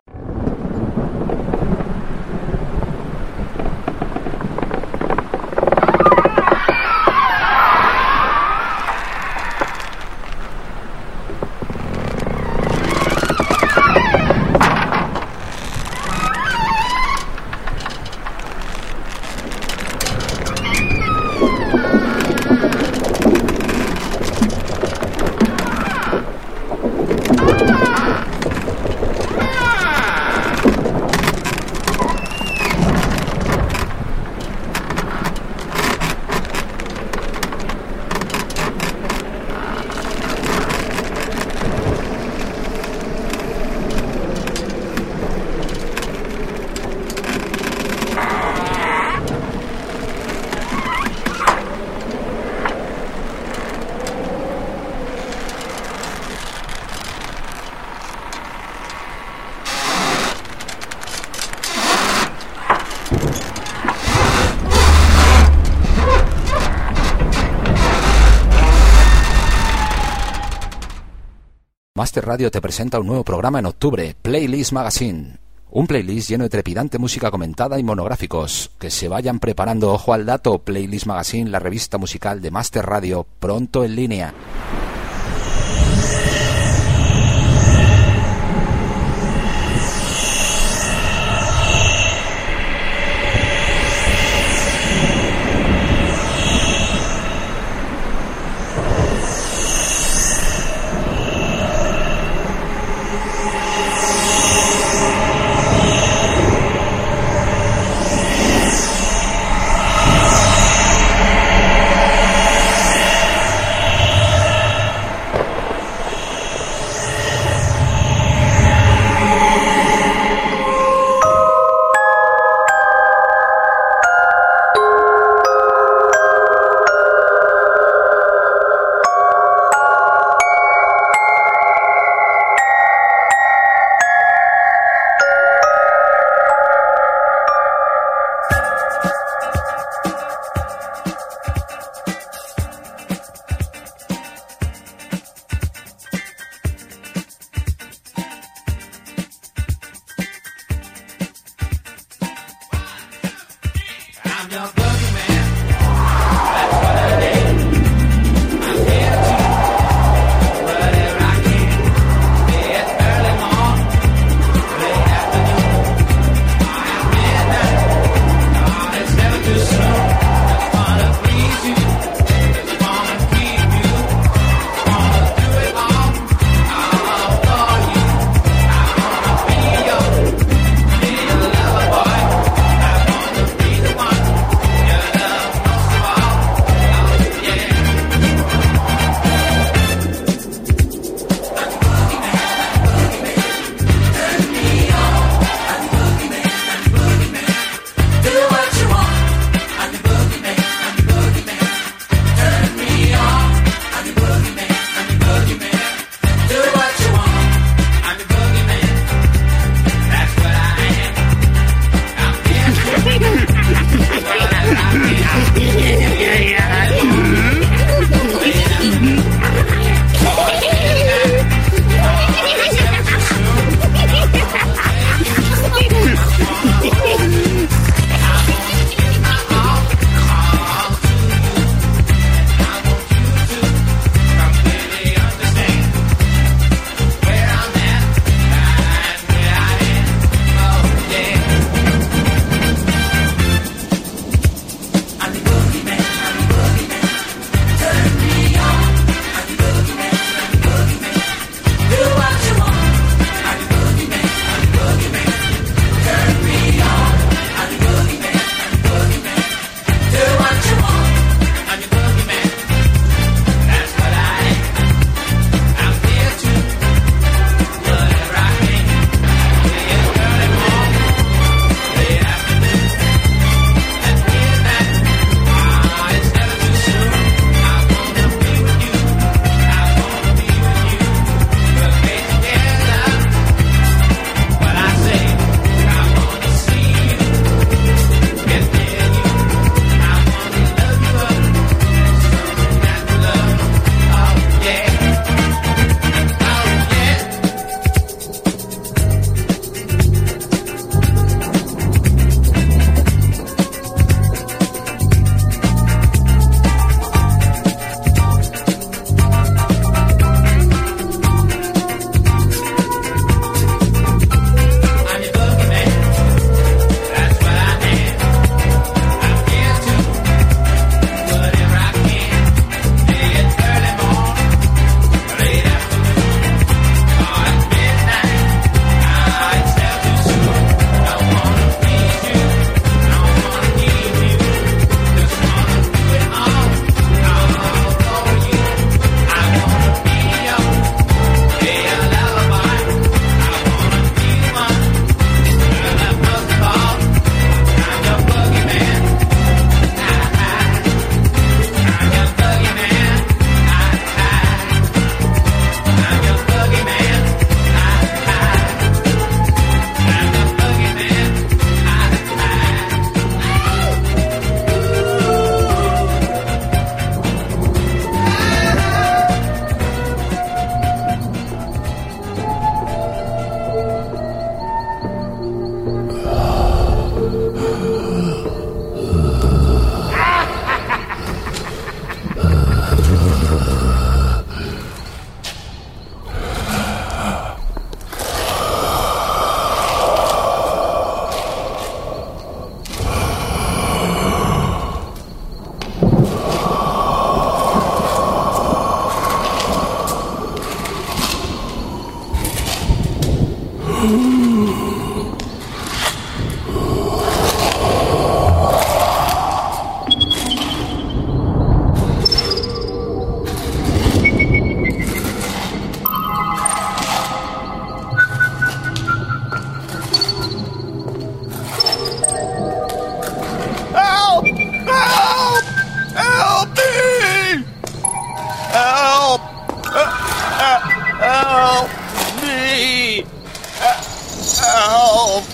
Master Radio te presenta un nuevo programa en octubre, Playlist Magazine. Un playlist lleno de trepidante música comentada y monográficos. Que se vayan preparando, ojo al dato, Playlist Magazine, la revista musical de Master Radio, pronto en línea. Help! Help! Help me! Help! Help me! Help!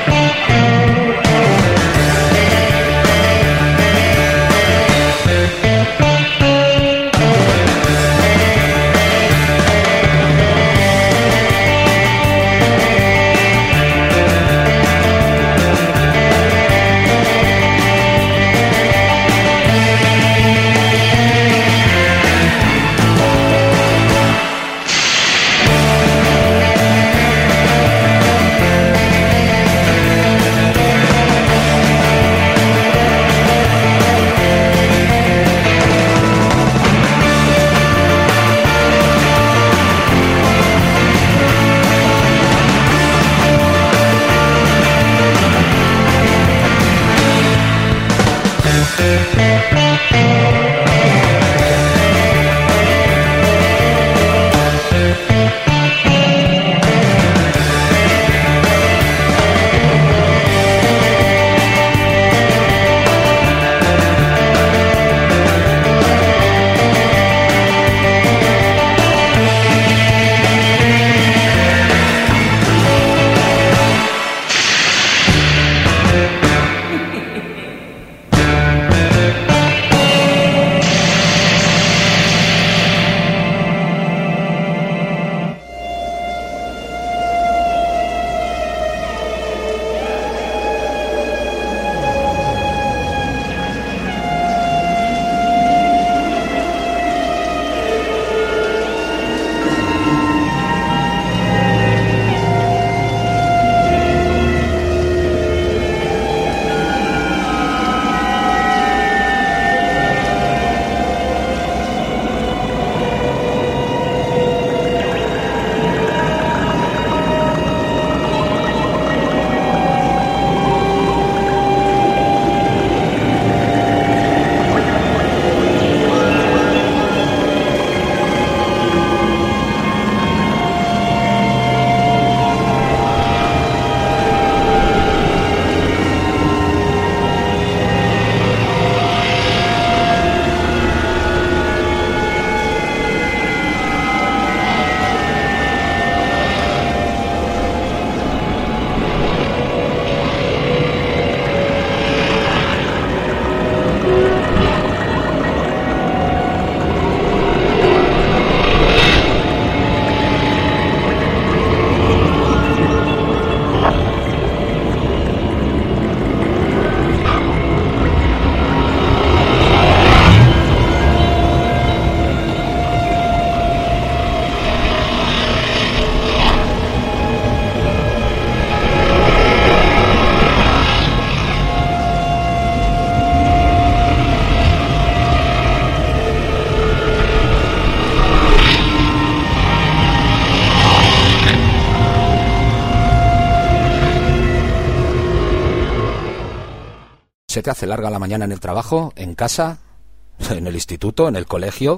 ¿Se te hace larga la mañana en el trabajo, en casa, en el instituto, en el colegio?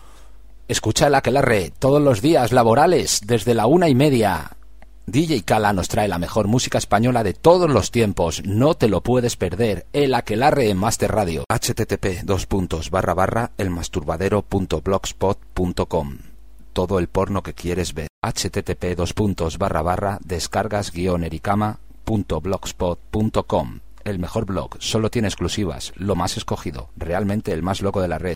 Escucha el Aquelarre todos los días laborales desde la 1:30. DJ Kala nos trae la mejor música española de todos los tiempos. No te lo puedes perder. El Aquelarre en Master Radio. http://elmasturbadero.blogspot.com. Todo el porno que quieres ver. http://descargasguionericama.blogspot.com. El mejor blog, solo tiene exclusivas, lo más escogido, realmente el más loco de la red.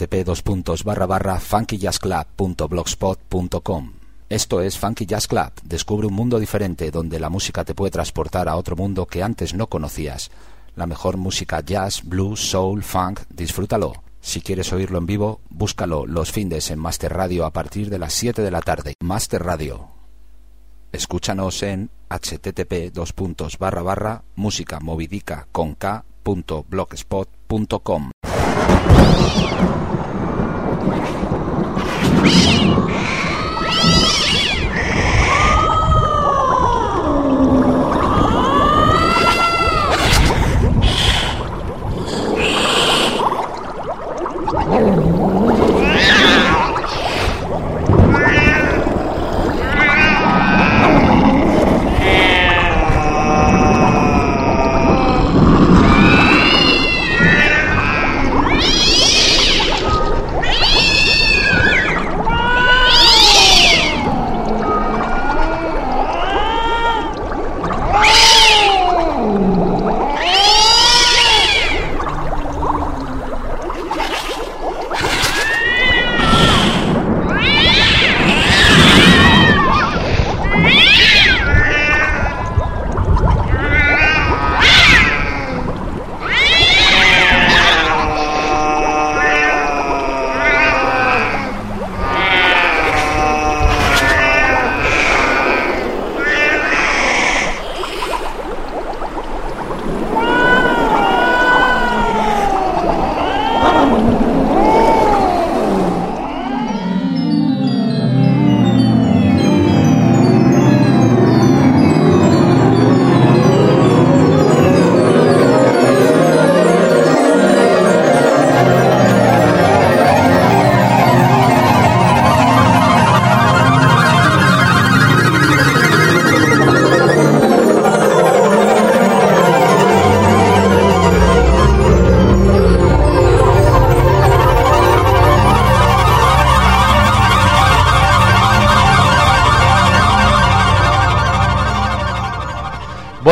http://funkyjazzclub.blogspot.com. Esto es Funky Jazz Club. Descubre un mundo diferente donde la música te puede transportar a otro mundo que antes no conocías. La mejor música jazz, blues, soul, funk, disfrútalo. Si quieres oírlo en vivo, búscalo los findes en Master Radio a partir de las 7 de la tarde. Master Radio. Escúchanos en http://musicamovidica.blogspot.com.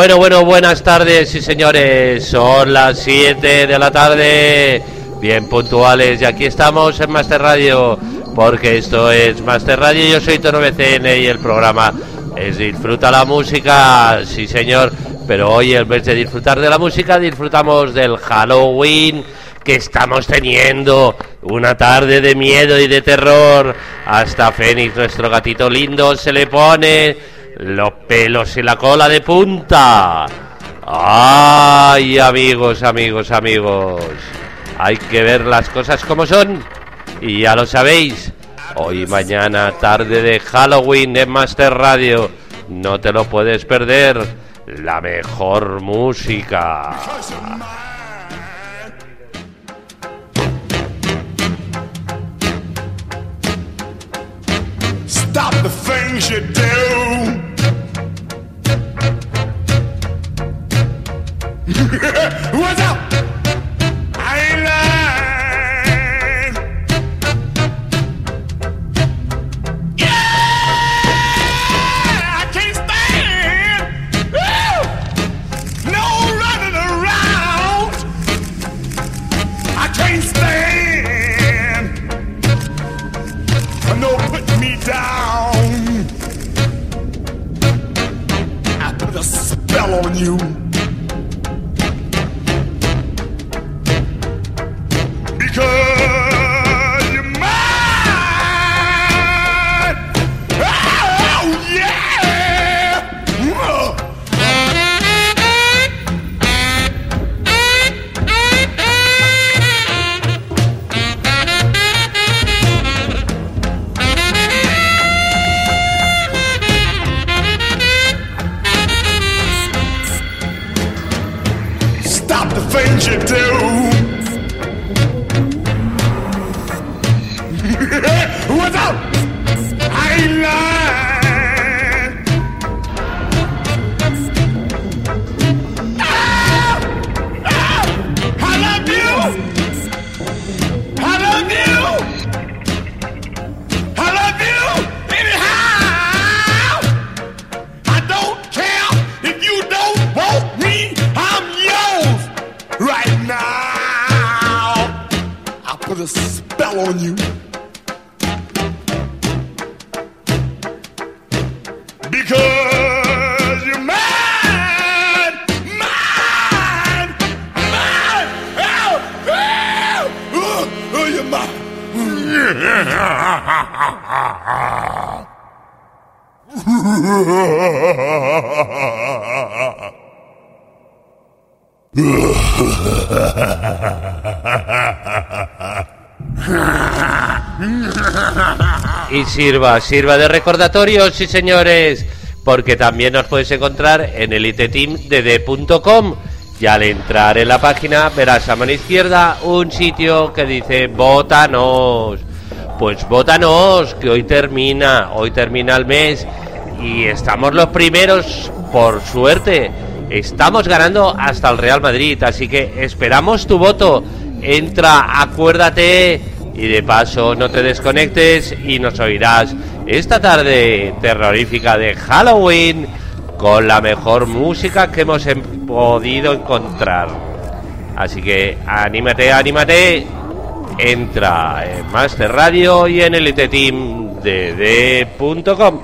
Buenas tardes, sí señores, son las 7 de la tarde, bien puntuales, y aquí estamos en Master Radio, porque esto es Master Radio, yo soy Tono BCN y el programa es Disfruta la Música, sí señor, pero hoy en vez de disfrutar de la música, disfrutamos del Halloween, que estamos teniendo una tarde de miedo y de terror, hasta Fénix, nuestro gatito lindo, se le pone los pelos y la cola de punta. Ay, amigos, hay que ver las cosas como son. Y ya lo sabéis, hoy y mañana, tarde de Halloween en Master Radio. No te lo puedes perder, la mejor música. Stop the things you do. What's up? I ain't lying. Yeah, I can't stand. Woo! No running around. I can't stand. No putting me down. I put a spell on you. Because you're mine. Oh, yeah. Stop the things you do. What's up? I ain't lying. I love you. I love you. I love you anyhow. I don't care if you don't want me. I'm yours right now. I put a spell on you. Because you're mine, you're mine. Y sirva de recordatorio, sí señores, porque también nos puedes encontrar en eliteteamdd.com y al entrar en la página verás a mano izquierda un sitio que dice Vótanos. Pues vótanos, que hoy termina el mes y estamos los primeros, por suerte. Estamos ganando hasta el Real Madrid, así que esperamos tu voto. Entra, acuérdate y de paso no te desconectes y nos oirás esta tarde terrorífica de Halloween con la mejor música que hemos podido encontrar. Así que anímate, entra en Master Radio y en eliteteamdd.com.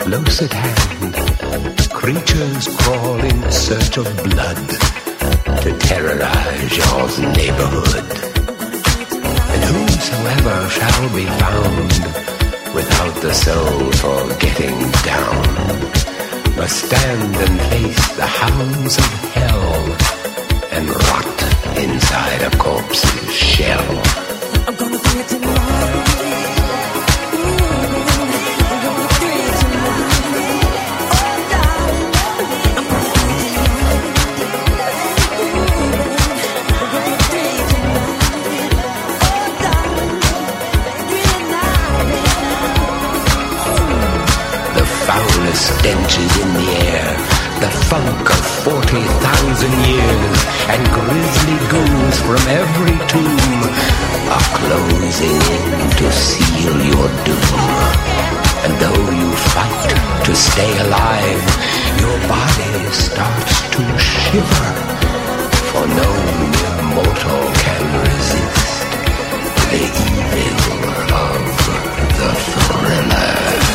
close at hand, creatures crawl in search of blood to terrorize your neighborhood. And whosoever shall be found without the soul for getting down must stand and face the hounds of hell and rot inside a corpse's shell. I'm gonna do it tonight. Stench is in the air, the funk of 40,000 years, and grisly ghouls from every tomb are closing in to seal your doom. And though you fight to stay alive, your body starts to shiver, for no mere mortal can resist the evil of the thriller.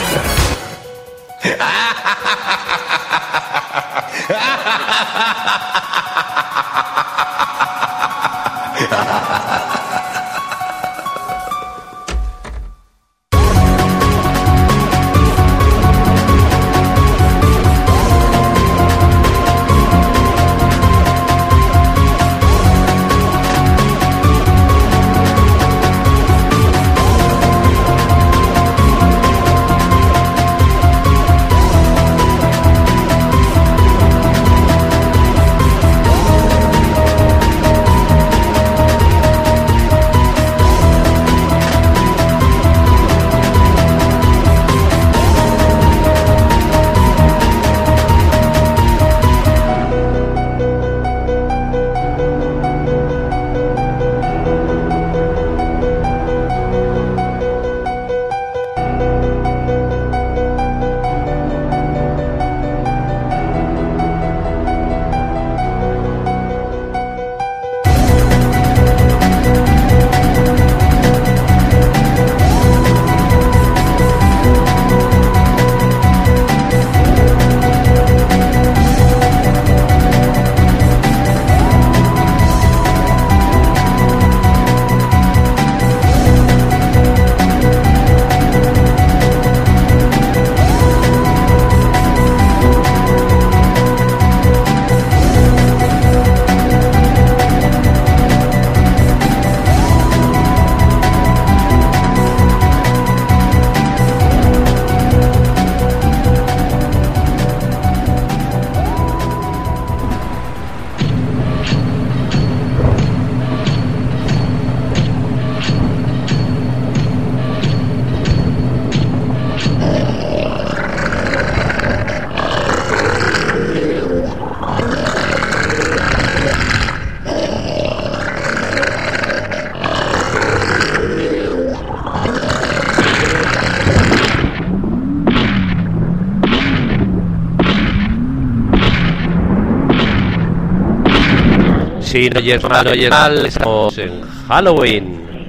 Sí, no oyes mal, no oyes mal, estamos en Halloween.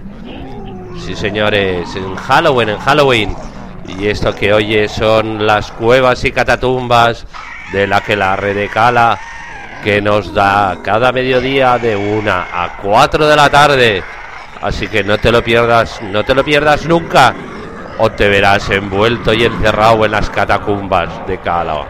Sí, señores, en Halloween. Y esto que oyes son las cuevas y catatumbas de la que la Redecala, que nos da cada mediodía de 1 a 4 de la tarde. Así que no te lo pierdas nunca, o te verás envuelto y encerrado en las catacumbas de Cala.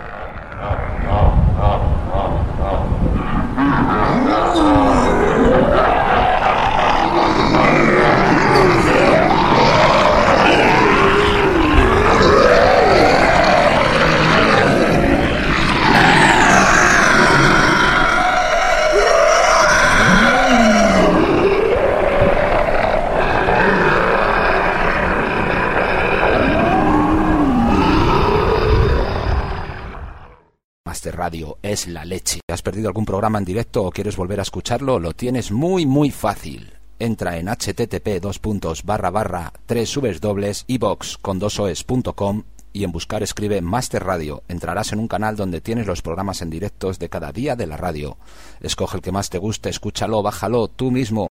Radio es la leche. ¿Has perdido algún programa en directo o quieres volver a escucharlo? Lo tienes muy fácil. Entra en http://www.ivox.com y en buscar escribe Master Radio. Entrarás en un canal donde tienes los programas en directos de cada día de la radio. Escoge el que más te guste, escúchalo, bájalo tú mismo.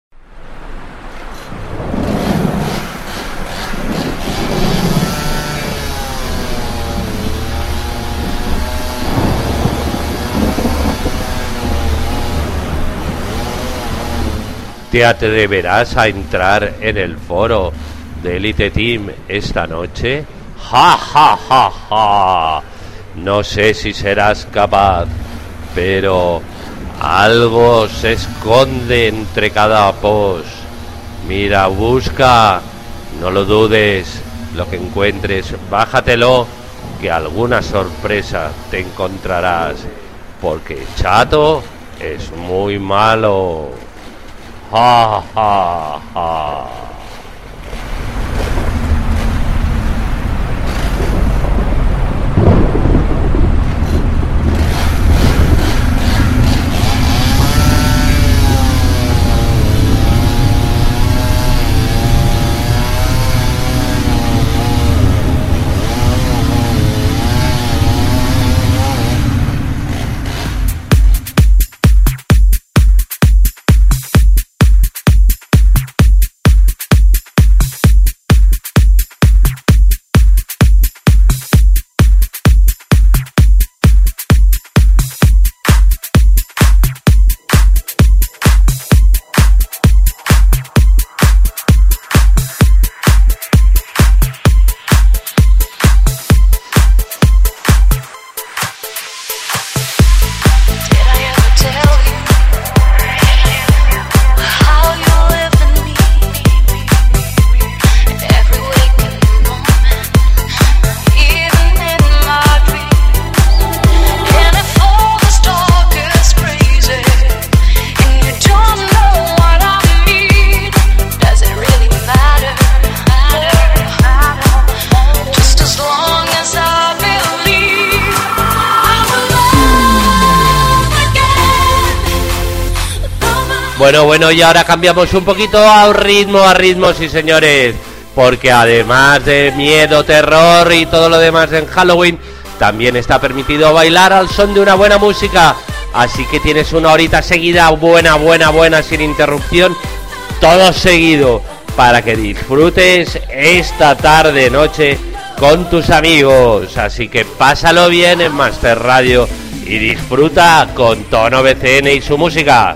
¿Te atreverás a entrar en el foro de Elite Team esta noche? ¡Ja, ja, ja, ja! No sé si serás capaz, pero algo se esconde entre cada post. Mira, busca, no lo dudes, lo que encuentres, bájatelo, que alguna sorpresa te encontrarás, porque Chato es muy malo. ¡Ja, ja, ja! Bueno, y ahora cambiamos un poquito a ritmo, sí señores, porque además de miedo, terror y todo lo demás en Halloween, también está permitido bailar al son de una buena música, así que tienes una horita seguida, buena, sin interrupción, todo seguido, para que disfrutes esta tarde, noche, con tus amigos, así que pásalo bien en Master Radio y disfruta con Tono BCN y su música.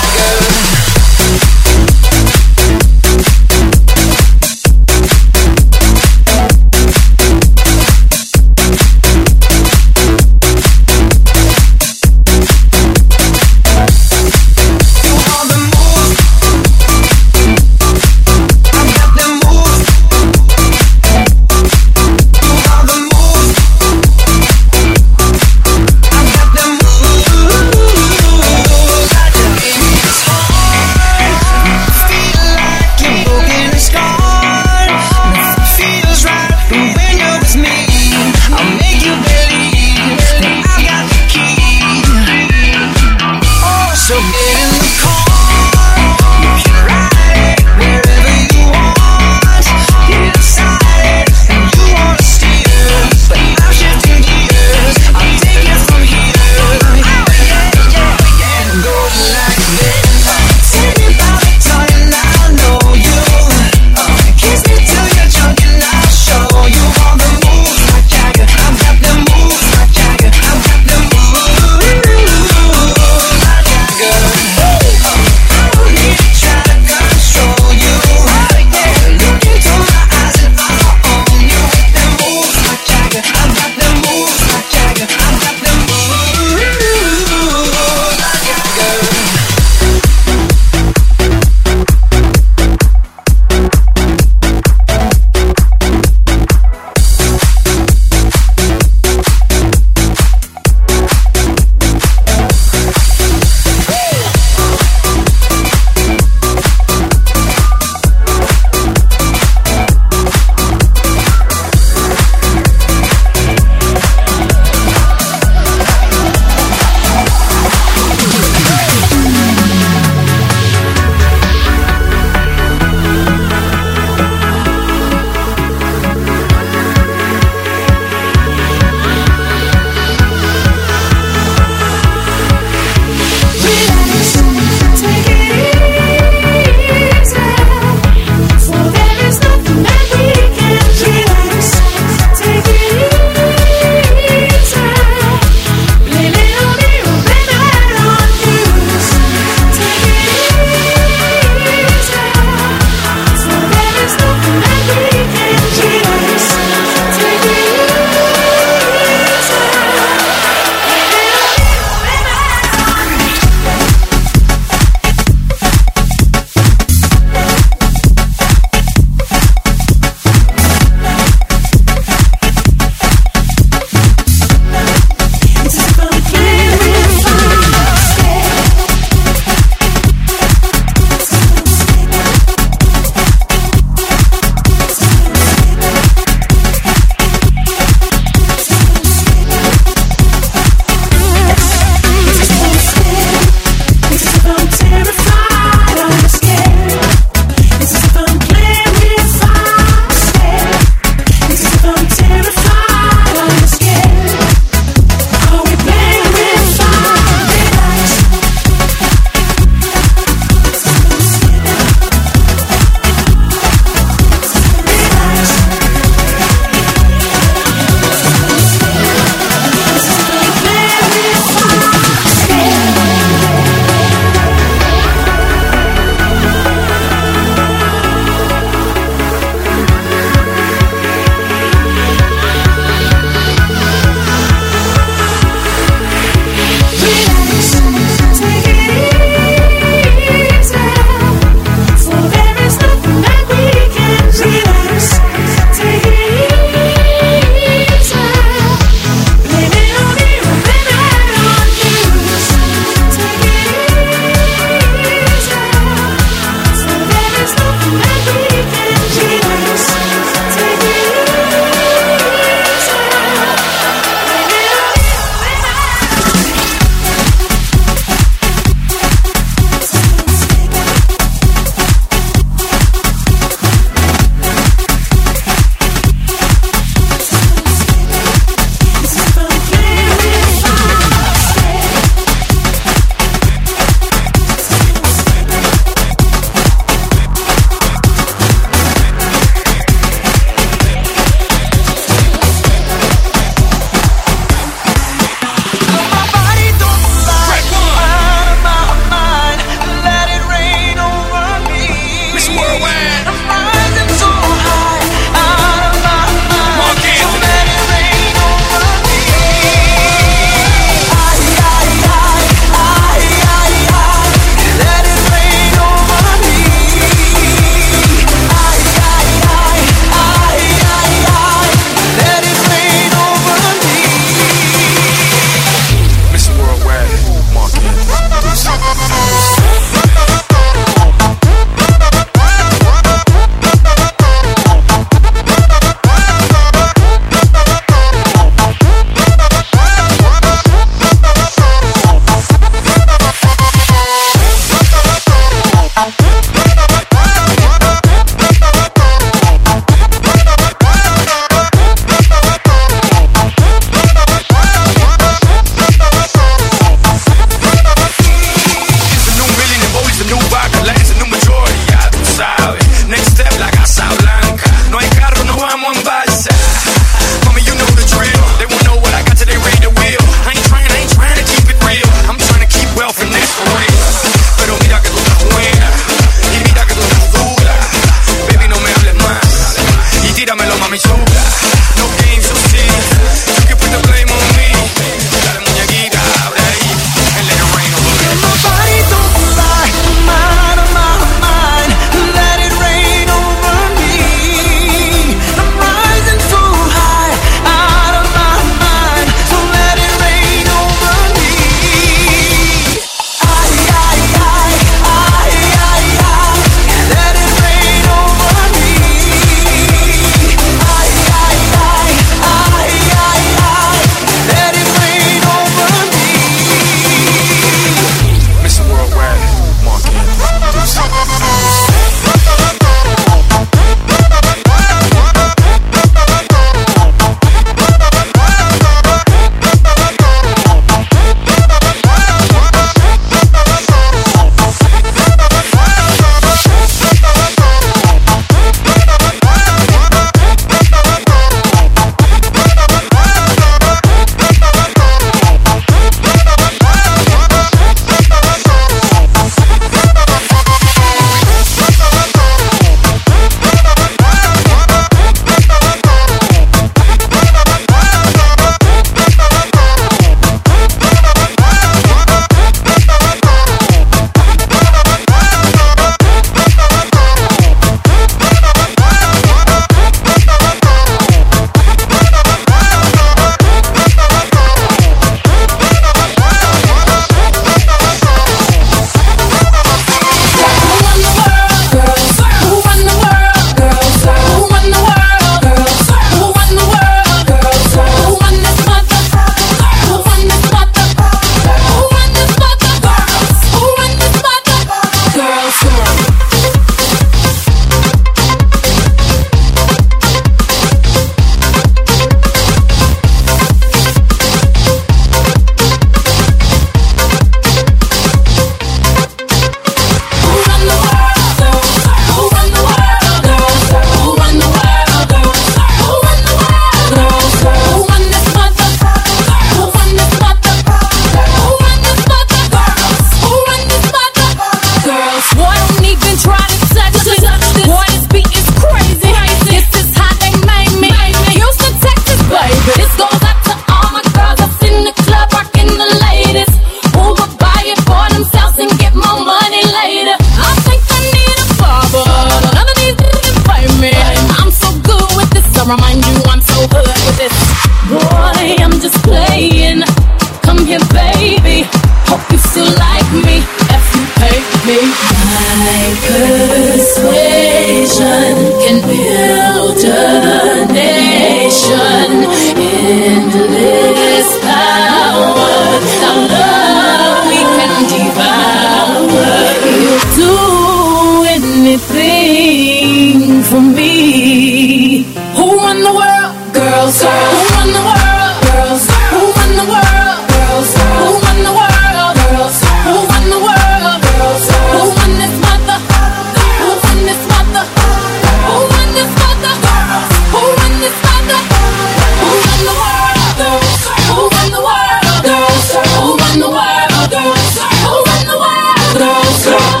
me. Who run the world? Girls. Who run the world? Girls. Who run the world? Girls. Who run the world? Girls. Who run the world? Girls. Who run this mother? Who run this mother? Who run this mother? Who run this mother? Who run the world? Girls. Who run the world? Girls. Who run the world? Girls. Who run the world? Girls.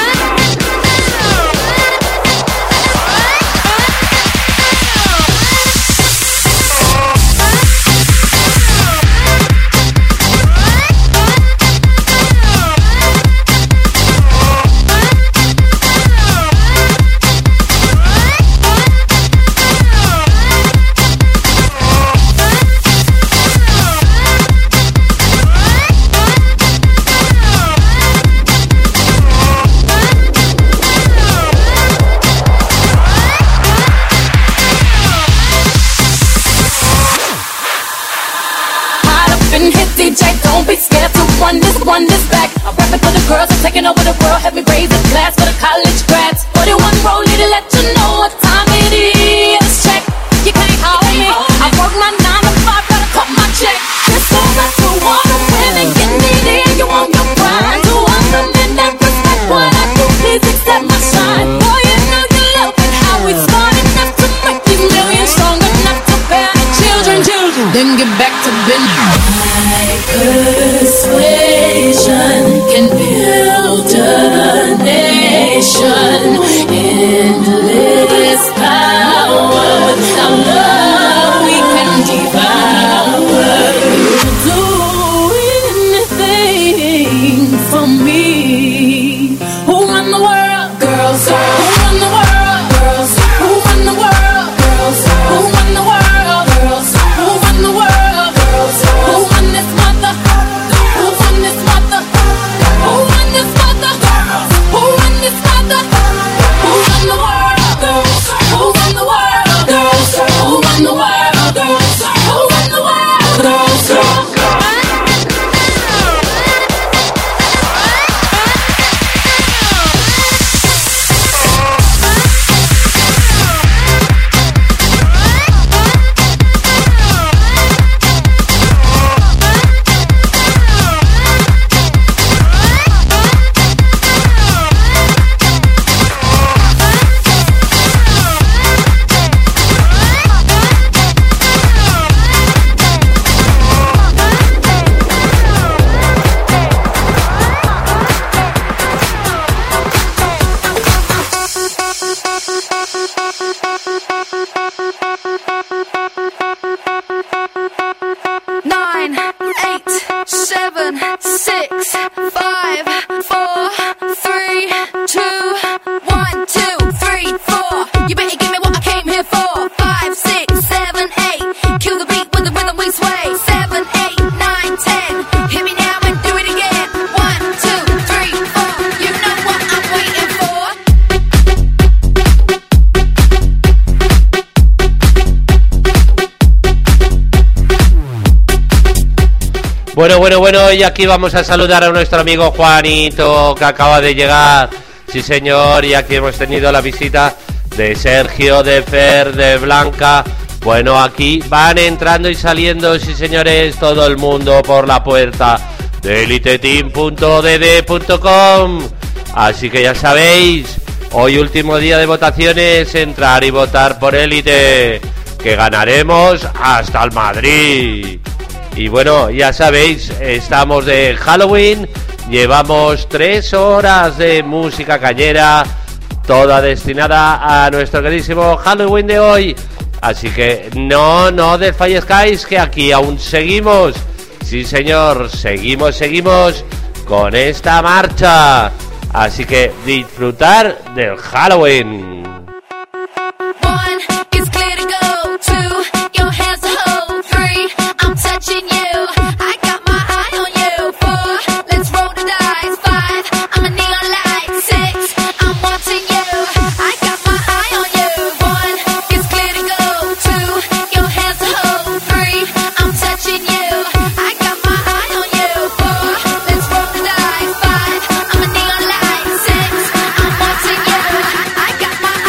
Don't be scared to run this back. I'm rapping for the girls, I'm taking over the world. Have me raise a glass for the college grads. 41 rollie to let you know what time it is. Check, you can't hold me. I work my 9 to 5, gotta cut my check. This goes out to all the women get needy and you want your pride. To all the men that respect what I do, please accept my shine. Boy, you know you love it how we smart enough to make these millions strong enough to bear the children. Then get back to business. Persuasion can build a nation. Endless power. Without love we can devour. You'll do anything for me. Who run the world? Girls. Who run the world? Girls. Who run the world? Girls. Who run the world? Girls. Who run the world? Girls. Who run this mother? Who run this mother? Who run this mother? Who run this mother? Who run the world? Girls. Who run the world? Girls. Who run the world? Girls. Who run the world? Girls. Bueno, y aquí vamos a saludar a nuestro amigo Juanito, que acaba de llegar. Sí, señor, y aquí hemos tenido la visita de Sergio, de Fer, de Blanca. Bueno, aquí van entrando y saliendo, sí, señores, todo el mundo por la puerta de eliteteam.dd.com. Así que ya sabéis, hoy último día de votaciones, entrar y votar por Elite, que ganaremos hasta el Madrid. Y bueno, ya sabéis, estamos de Halloween, llevamos 3 horas de música cañera, toda destinada a nuestro queridísimo Halloween de hoy. Así que no desfallezcáis, que aquí aún seguimos. Sí, señor, seguimos con esta marcha. Así que disfrutar del Halloween. I got my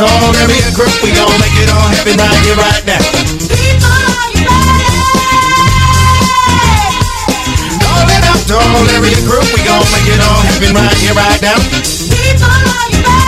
to all area group, we gon' make it all happen right here, right now. People, are you ready? Calling out to all area group, we gon' make it all happen right here, right now. People, are you ready?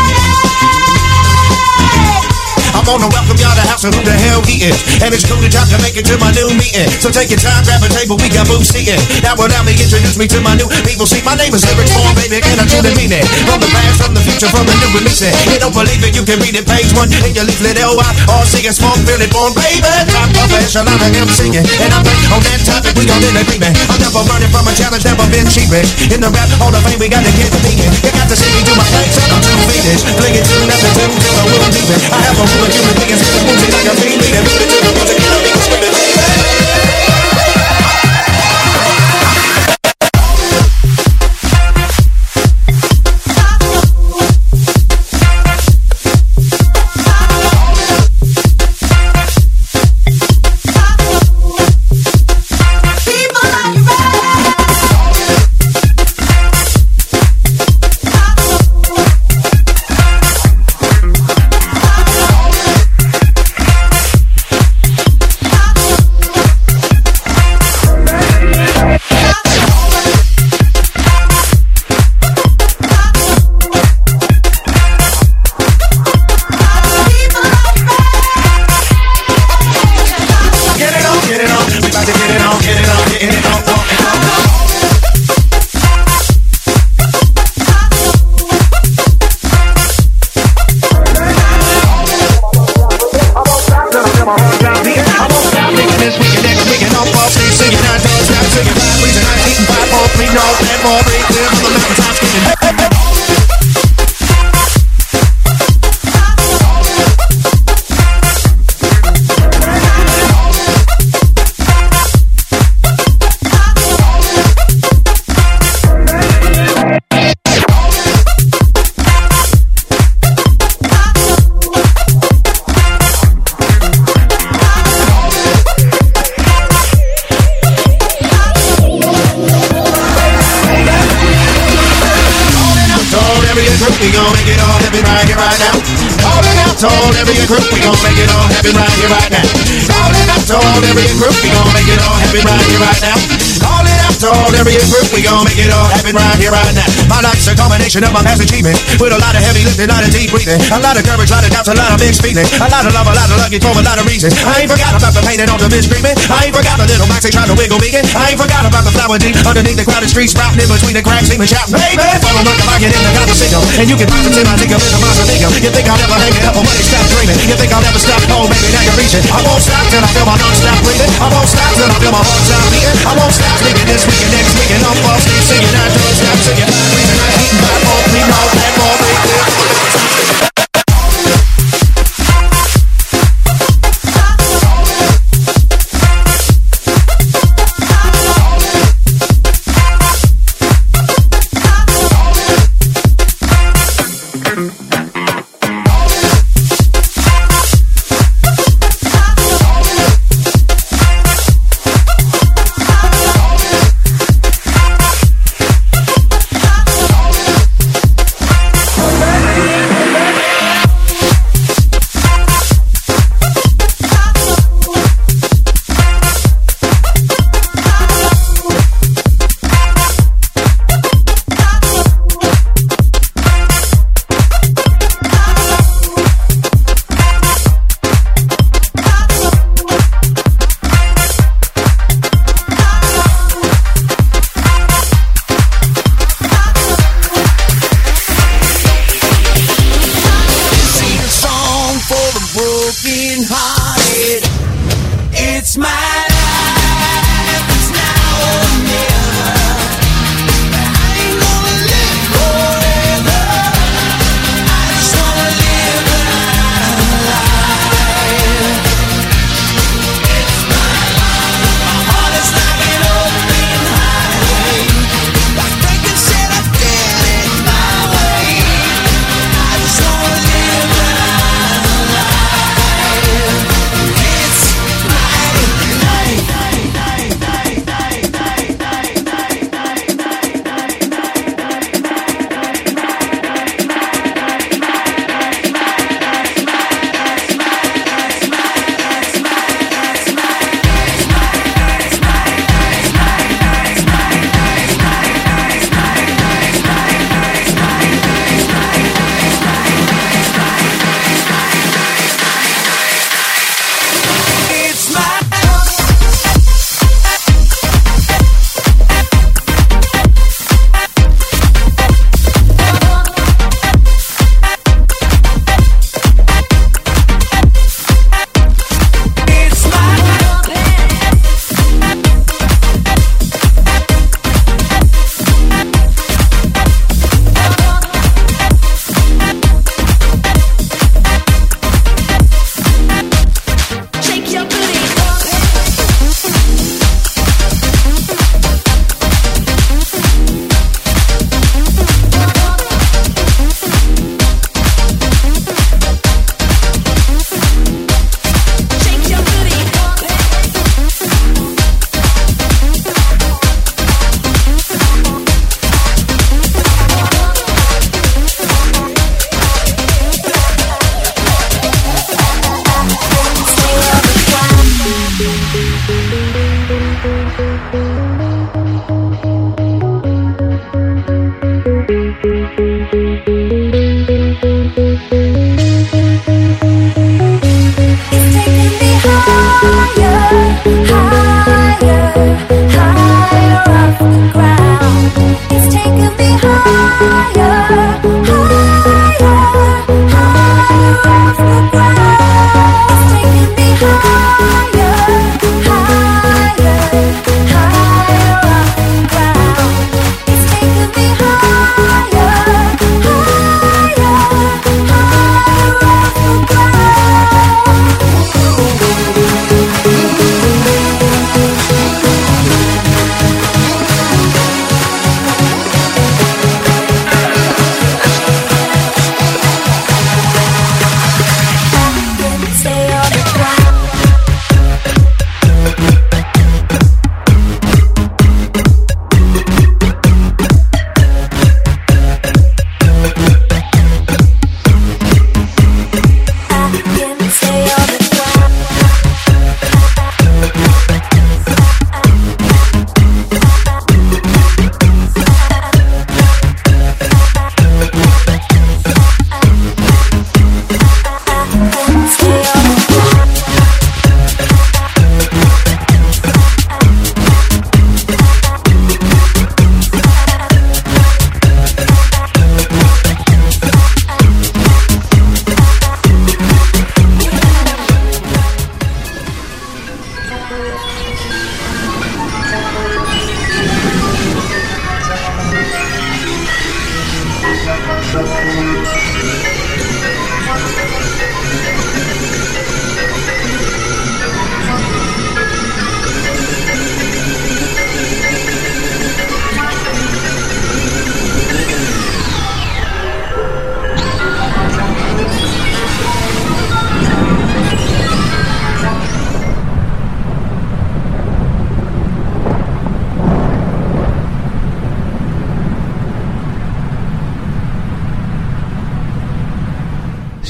I'm gonna welcome y'all to house of who the hell he is. And it's cool to time to make it to my new meeting. So take your time, grab a table, we got booths seated. Now allow me introduce me to my new people. See, my name is Eric Storm, baby, and I truly mean it. From the past, from the future, from the new release. You don't believe it, you can read it, page 1 in your leaflet. L-Y-R-C, smoke, feel it, born, baby. Top professional, I am singing. And I'm on that topic, we gon' end agreement. I'm never running from a challenge, never been cheated. In the rap hall of fame, we gotta get beaten. You got to see me do my thing, so I'm too fiendish. Fling it to nothing, till I will leave it. I have a fool of human beings, in the music like a fiend. Lead it to the music, you know me, screaming, we gon' make it all happen right here, right now. Calling out to all area group, we gon' make it all happen right here, right now. Calling out to all area group, we gon' make it all happen right here, right now. Calling out to all area group, we gon' make it all happen right here, right now. My life's a combination of my past achievement, with a lot of heavy lifting, a lot of deep breathing, a lot of courage, a lot of doubts, a lot of mixed feelings, a lot of love, a lot of luggage for a lot of reasons. I ain't forgot about the pain and all the mistreatment. I ain't forgot the little Maxie trying to wiggle me in. I ain't forgot about the flower deep underneath the crowded streets, sprouting in between the cracks, even shouting, baby, follow like a rocket in the conversation. And you can positive, I think of it, a monster figure. You think I'll never hang it up, or money stop dreaming. You think I'll never stop, oh baby, now you're reaching. I won't stop till I feel my non-stop breathing. I won't stop till I feel my heart stop beating. I won't stop thinking this week and next week, and I'm false, keep singing, I don't stop singing. Reason I eat my own, we know that more breathing.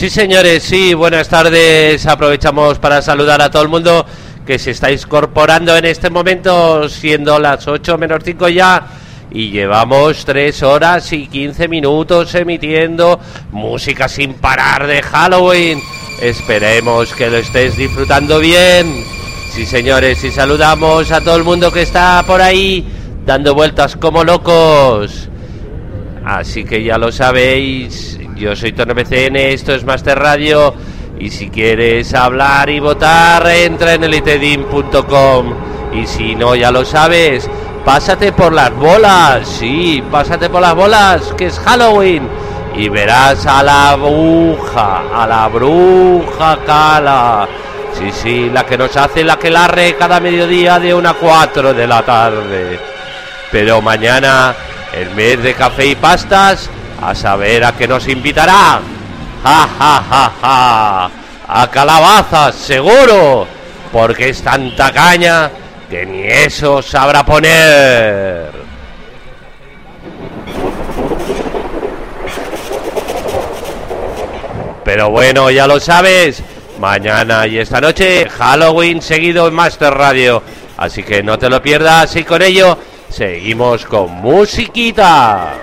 Sí, señores, sí, buenas tardes. Aprovechamos para saludar a todo el mundo que se está incorporando en este momento, siendo las 8 menos 5 ya, y llevamos 3 horas y 15 minutos emitiendo música sin parar de Halloween. Esperemos que lo estés disfrutando bien. Sí, señores, y saludamos a todo el mundo que está por ahí dando vueltas como locos. Así que ya lo sabéis, yo soy Tono BCN, esto es Master Radio, y si quieres hablar y votar, entra en elitedim.com, y si no, ya lo sabes, pásate por las bolas, sí, pásate por las bolas, que es Halloween, y verás a la bruja Cala, sí, la que nos hace la que larre cada mediodía de 1 a 4 de la tarde. Pero mañana, el mes de café y pastas, a saber a qué nos invitará. ¡Ja! A calabazas, seguro, porque es tanta caña que ni eso sabrá poner. Pero bueno, ya lo sabes, mañana y esta noche, Halloween seguido en Master Radio. Así que no te lo pierdas, y con ello seguimos con musiquita.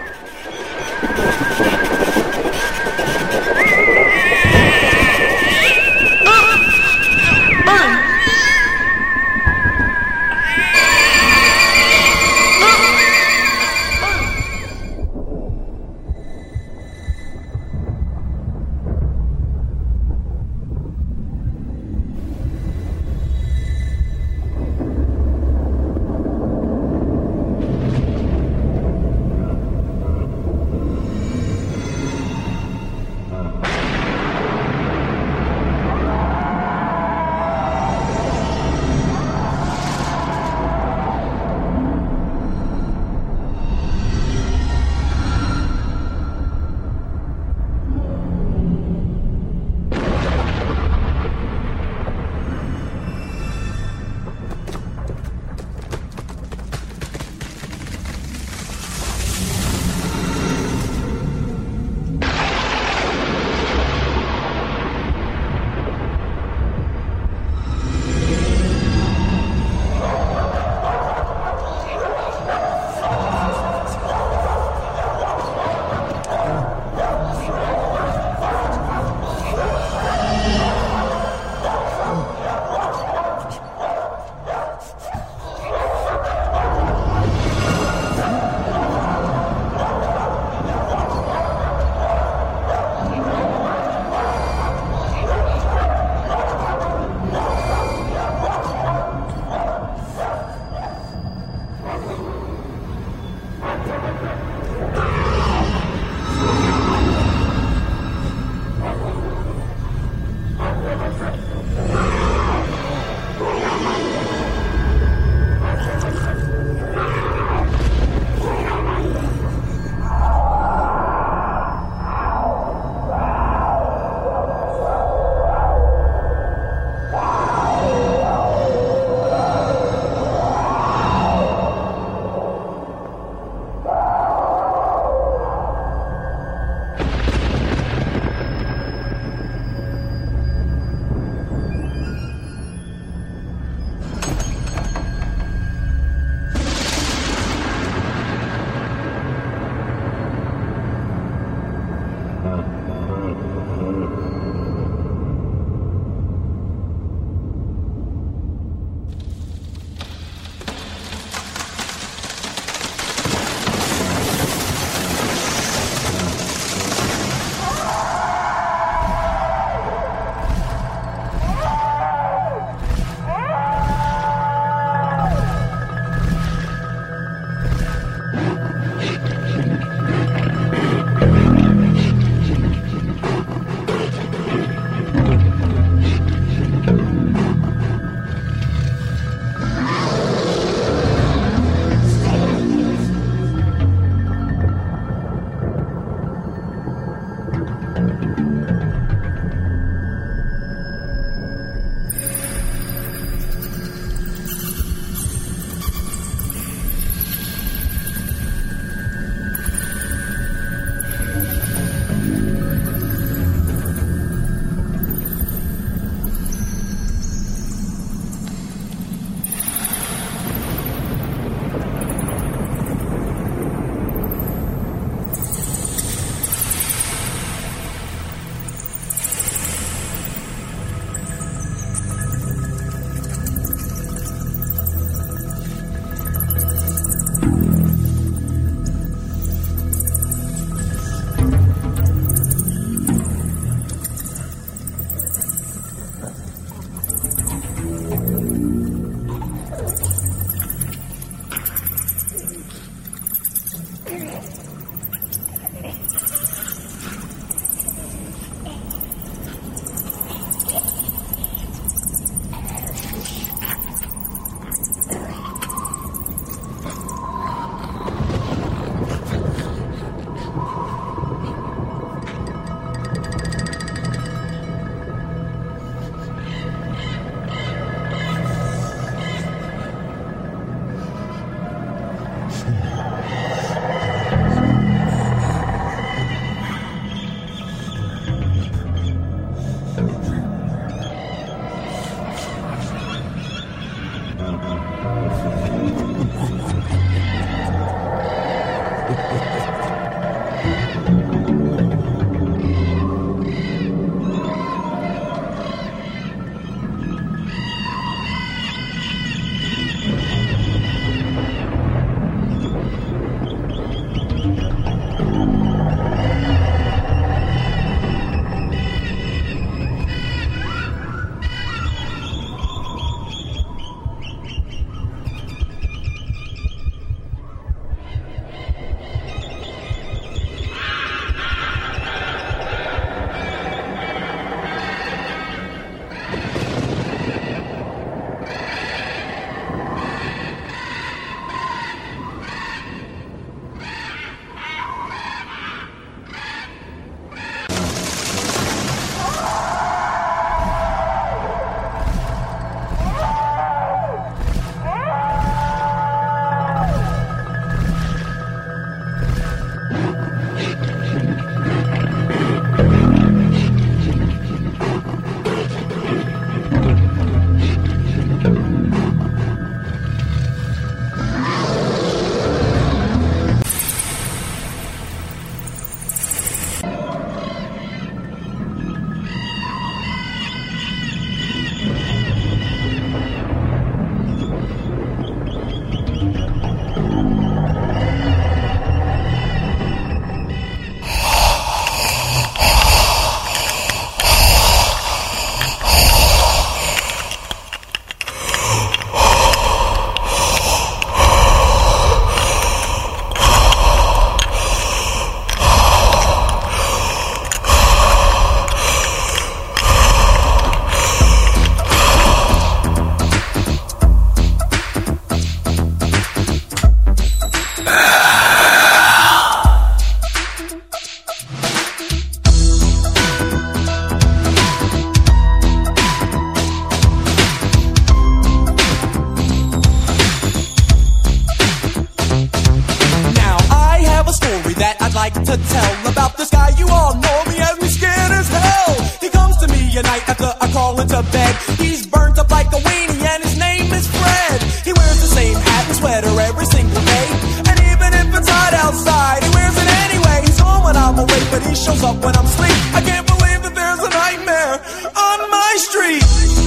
like to tell about this guy. You all know me as me scared as hell. He comes to me at night after I crawl into bed. He's burnt up like a weenie and his name is Fred. He wears the same hat and sweater every single day. And even if it's hot outside, he wears it anyway. He's home when I'm awake, but he shows up when I'm asleep. I can't believe that there's a nightmare on my street.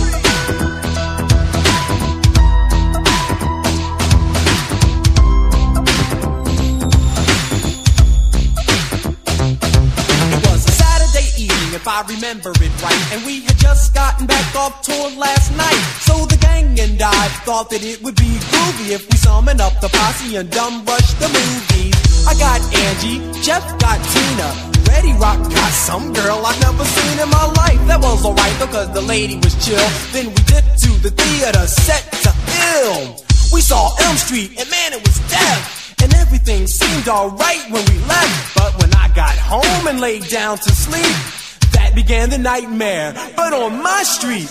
If I remember it right, and we had just gotten back off tour last night. So the gang and I thought that it would be groovy if we summoned up the posse and dumb rushed the movies. I got Angie, Jeff got Tina, Reddy Rock got some girl I've never seen in my life. That was alright though, cause the lady was chill. Then we dipped to the theater set to Ill. We saw Elm Street, and man, it was death. And everything seemed alright when we left. But when I got home and laid down to sleep, that began the nightmare, but on my street.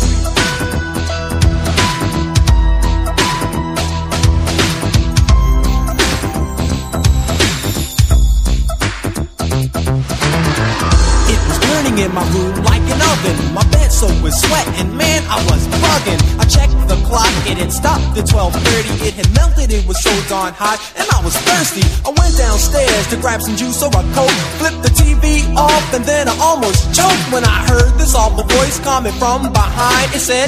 It was burning in my room like an oven. My bed soaked with sweat, and man, I was bugging. I checked the clock, it had stopped at 12:30. It had melted, it was so darn hot, and I was thirsty. I went downstairs to grab some juice or a Coke, flipped the TV off, and then I almost choked when I heard this awful voice coming from behind. It said,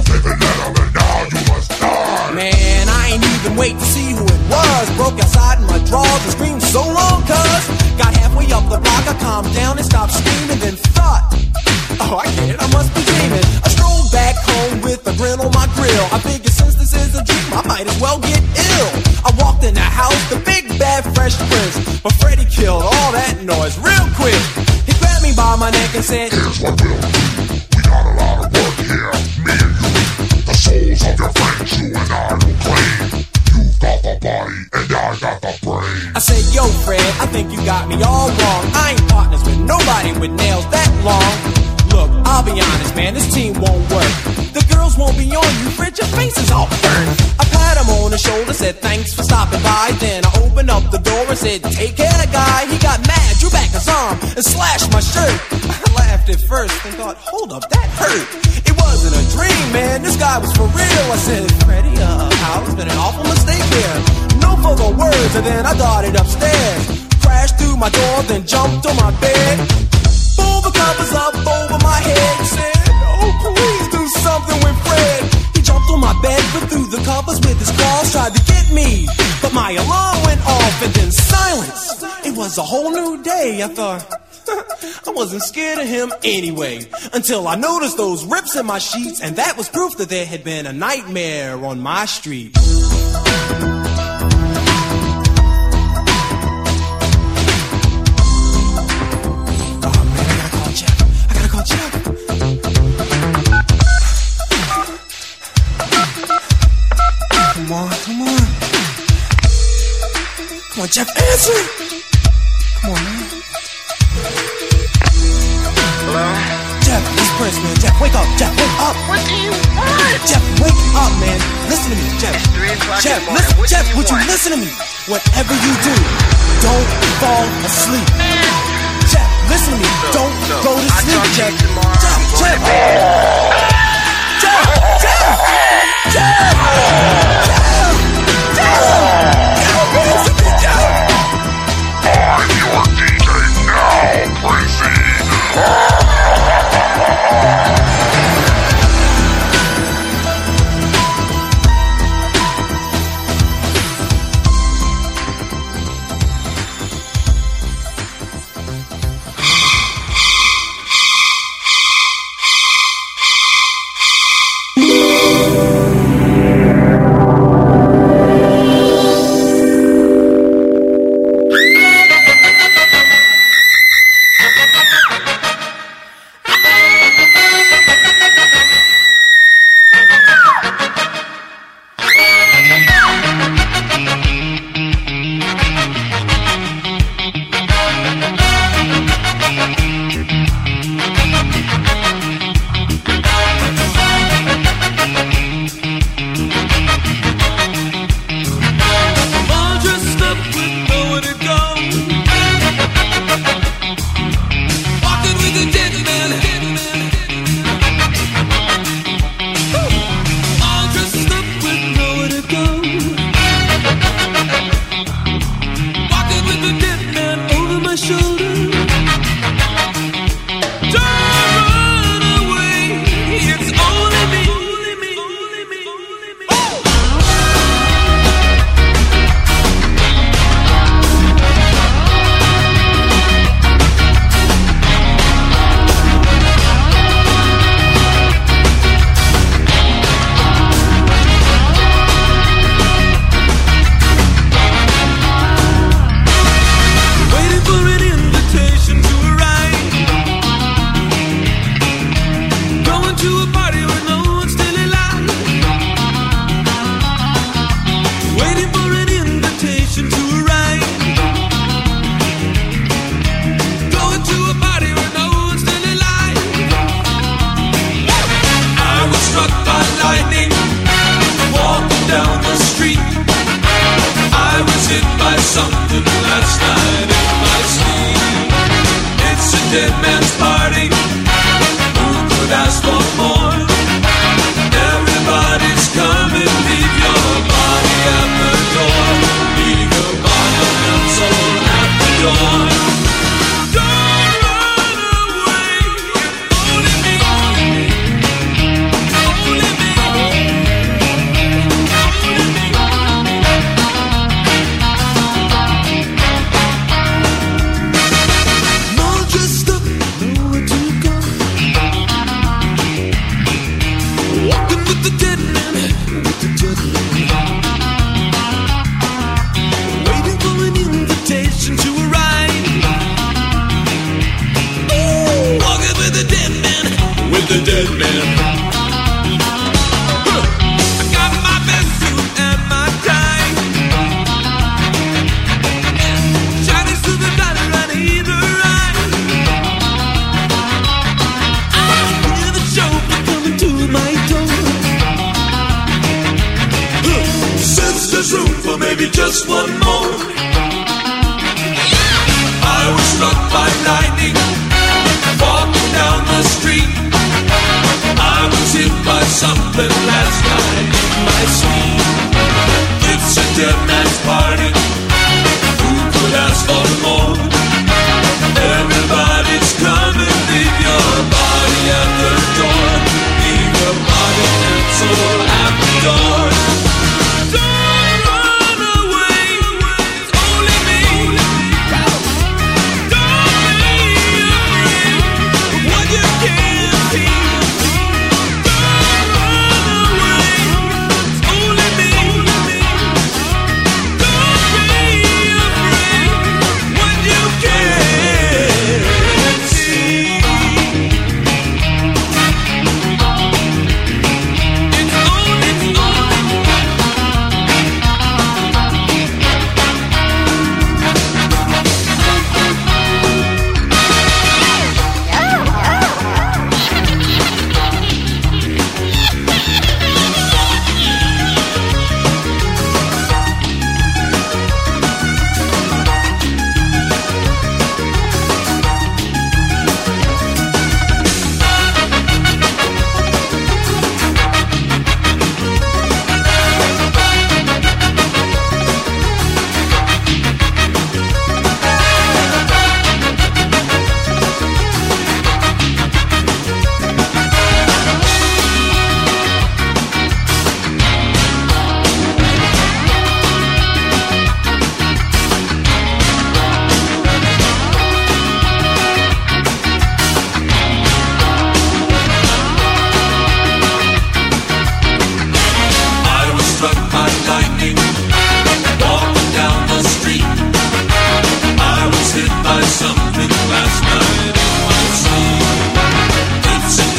man, I ain't even wait to see who it was. Broke outside in my drawers and screamed so long, cuz got halfway up the block, I calmed down and stopped screaming, then thought, oh, I get it, I must be dreaming. I strolled back home with a grin on my grill. I figured since this is a dream, I might as well get ill. I walked in the house, the big bad Fresh Prince, but Freddy killed all that noise real quick. He grabbed me by my neck and said, here's what we'll do. We got a lot of work here, me and you. The souls of your friends, you and I will claim. You've got the body and I got the brain. I said, yo Fred, I think you got me all wrong. I ain't partners with nobody with nails that long. Look, I'll be honest, man, this team won't work. The girls won't be on you, Fred, your face is all burnt. I pat him on the shoulder, said thanks for stopping by. Then I opened up the door and said, take care, guy. He got mad, drew back his arm, and slashed my shirt. I laughed laughed at first and thought, hold up, that hurt. It wasn't a dream, man, this guy was for real. I said, Freddie, Hal, it's been an awful mistake here. No further words, and then I darted upstairs. Crashed through my door, then jumped on my bed. Pulled the covers up over my head and said, oh, please do something with Fred. He jumped on my bed, but through the covers with his claws, tried to get me. But my alarm went off and then silence. It was a whole new day. I thought, I wasn't scared of him anyway. Until I noticed those rips in my sheets, and that was proof that there had been a nightmare on my street. Come on, Jeff, answer! Come on, man. Hello? Jeff, it's Prince, man. Jeff, wake up. Jeff, wake up. What do you want? Jeff, wake up, man. Listen to me, Jeff. It's 3 o'clock Jeff, in the morning. listen, Jeff, would you listen to me? Whatever you do, don't fall asleep. Jeff, listen to me. Don't go to sleep, Jeff. Jeff, I was struck by lightning, walking down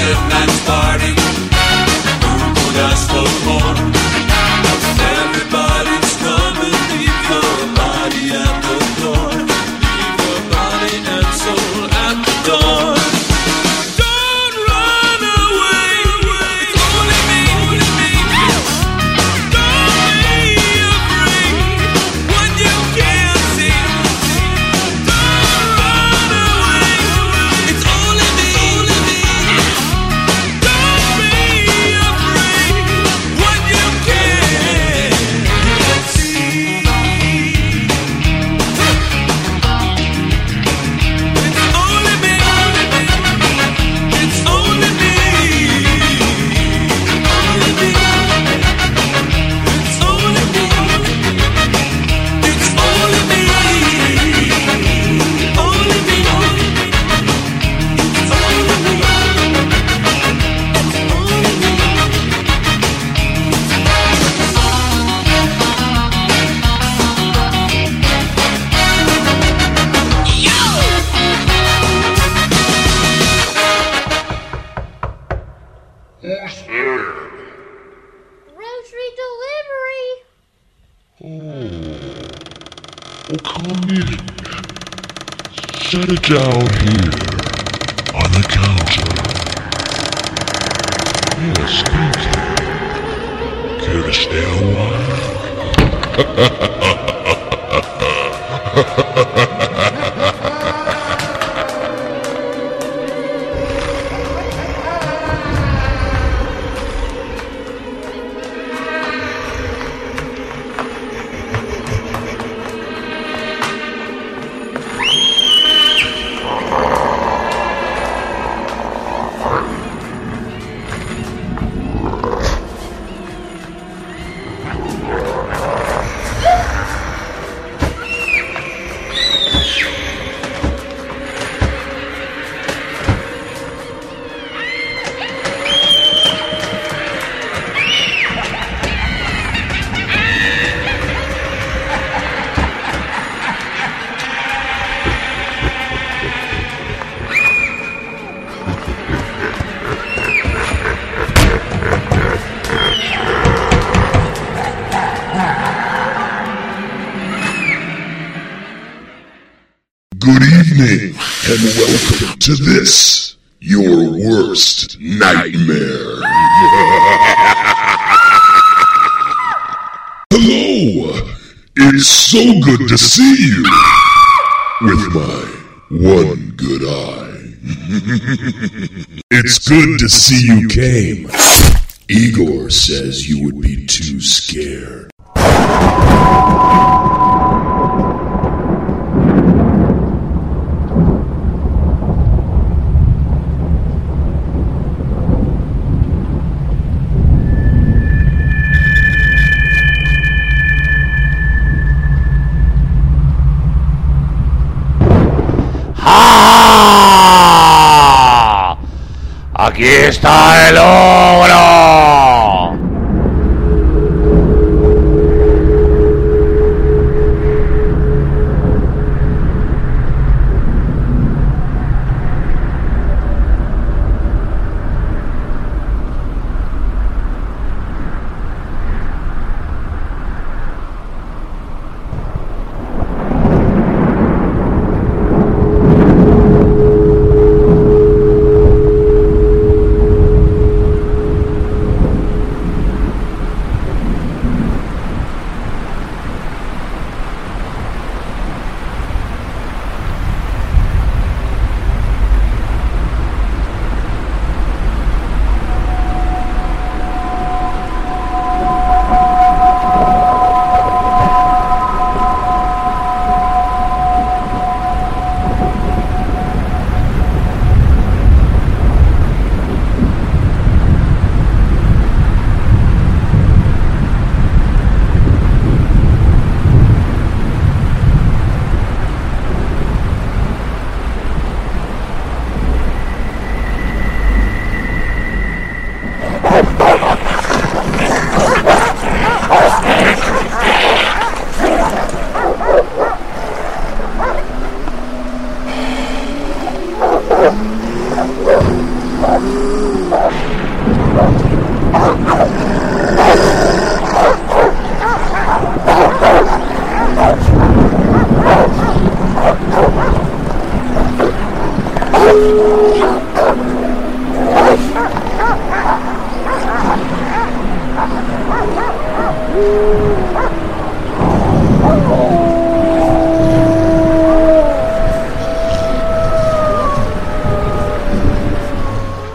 St. Anne's party. Who could ask for more? Everybody's coming, leave your body at the door. Leave your body and soul at the door. Don't run away, it's only me. Don't be afraid what you can't see. Don't run away, it's only me. Don't be afraid what you can't see. It's only me. It's only me. Only me. It's only me. It's only me. Only me. It's only me. Grocery delivery. Oh, come in. Set it down here, on the counter. Yes, thank you. Care to stay a while? Good evening, and welcome to this, your worst nightmare. Hello! It's so good to see you! With my one good eye. It's good to see you came. Igor says you would be too scared. ¡Ah! ¡Aquí está el ogro!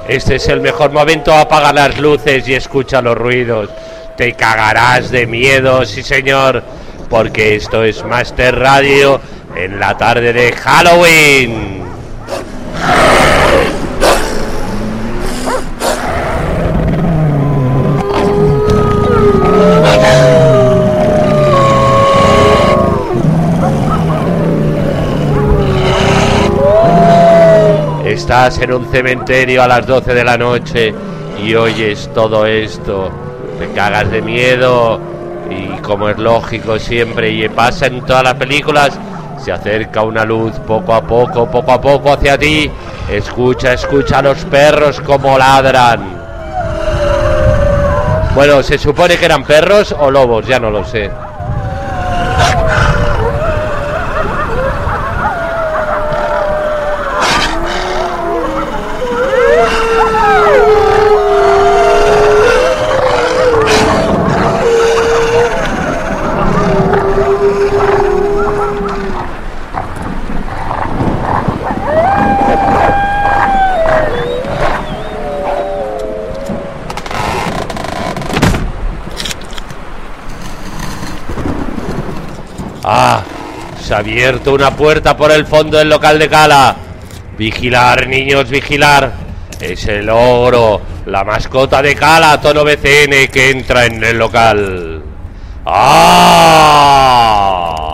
Este es el mejor momento, apaga las luces y escucha los ruidos. Te cagarás de miedo, sí señor, porque esto es Master Radio en la tarde de Halloween. Estás en un cementerio a las 12 de la noche y oyes todo esto, te cagas de miedo y, como es lógico siempre y pasa en todas las películas, se acerca una luz poco a poco hacia ti. Escucha a los perros como ladran. Bueno, se supone que eran perros o lobos, ya no lo sé. Se ha abierto una puerta por el fondo del local de Cala. Vigilar, niños, vigilar. Es el ogro, la mascota de Cala, Tono BCN, que entra en el local. ¡Ah!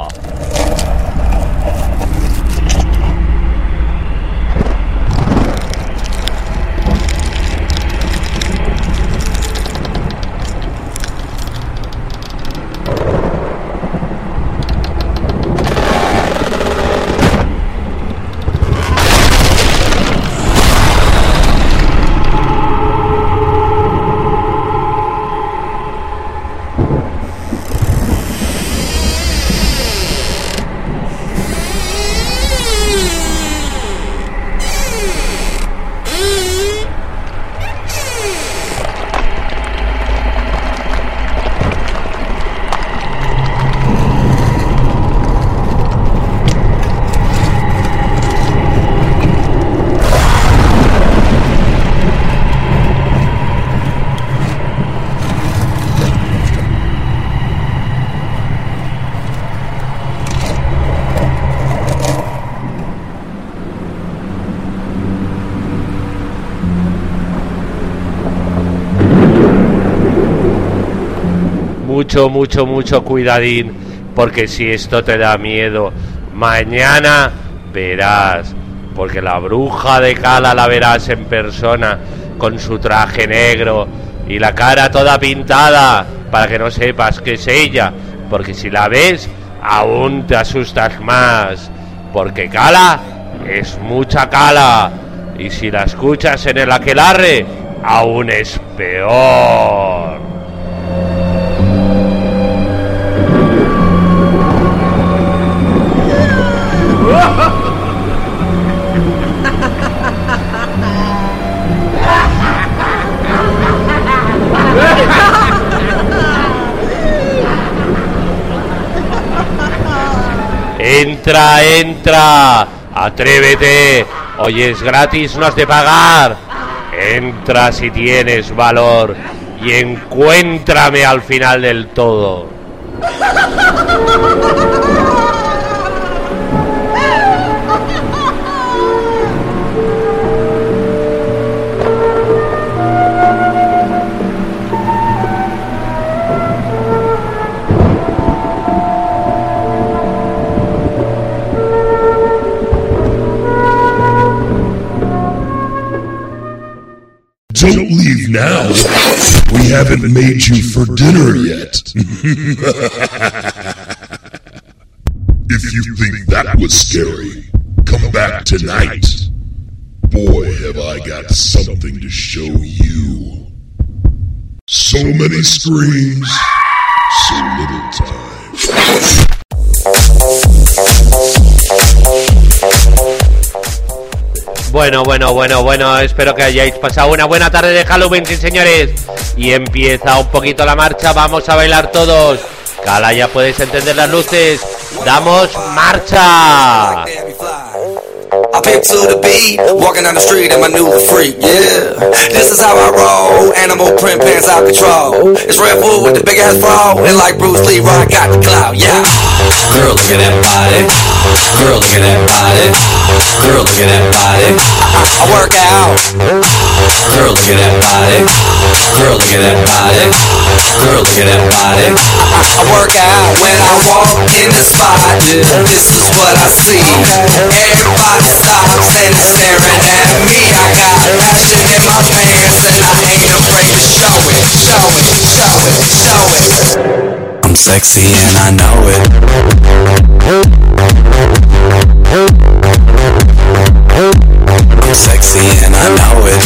Mucho cuidadín, porque si esto te da miedo, mañana verás, porque la bruja de Cala la verás en persona, con su traje negro y la cara toda pintada, para que no sepas que es ella, porque si la ves, aún te asustas más, porque Cala es mucha Cala, y si la escuchas en el aquelarre, aún es peor. Entra, atrévete, hoy es gratis, no has de pagar. Entra si tienes valor y encuéntrame al final del todo. Don't leave now. We haven't made you for dinner yet. If you think that was scary, come back tonight. Boy, have I got something to show you. So many screams, so little time. Bueno, espero que hayáis pasado una buena tarde de Halloween, sí señores. Y empieza un poquito la marcha, vamos a bailar todos. Cala, ya puedes encender las luces. ¡Damos marcha! I pimp to the beat, walking down the street and my new freak, yeah. This is how I roll, animal print pants out control. It's Red Bull with the big ass bra, and like Bruce Lee, I got the clout, yeah. Girl, look at that body. Girl, look at that body. Girl, look at that body. I work out. Girl, look at that body. Girl, look at that body. Girl, look at that body. I work out when I walk in the spot. This is what I see. Everybody stops and is staring at me. I got passion in my pants and I ain't afraid to show it. Show it, show it, show it. I'm sexy and I know it. I'm sexy and I know it.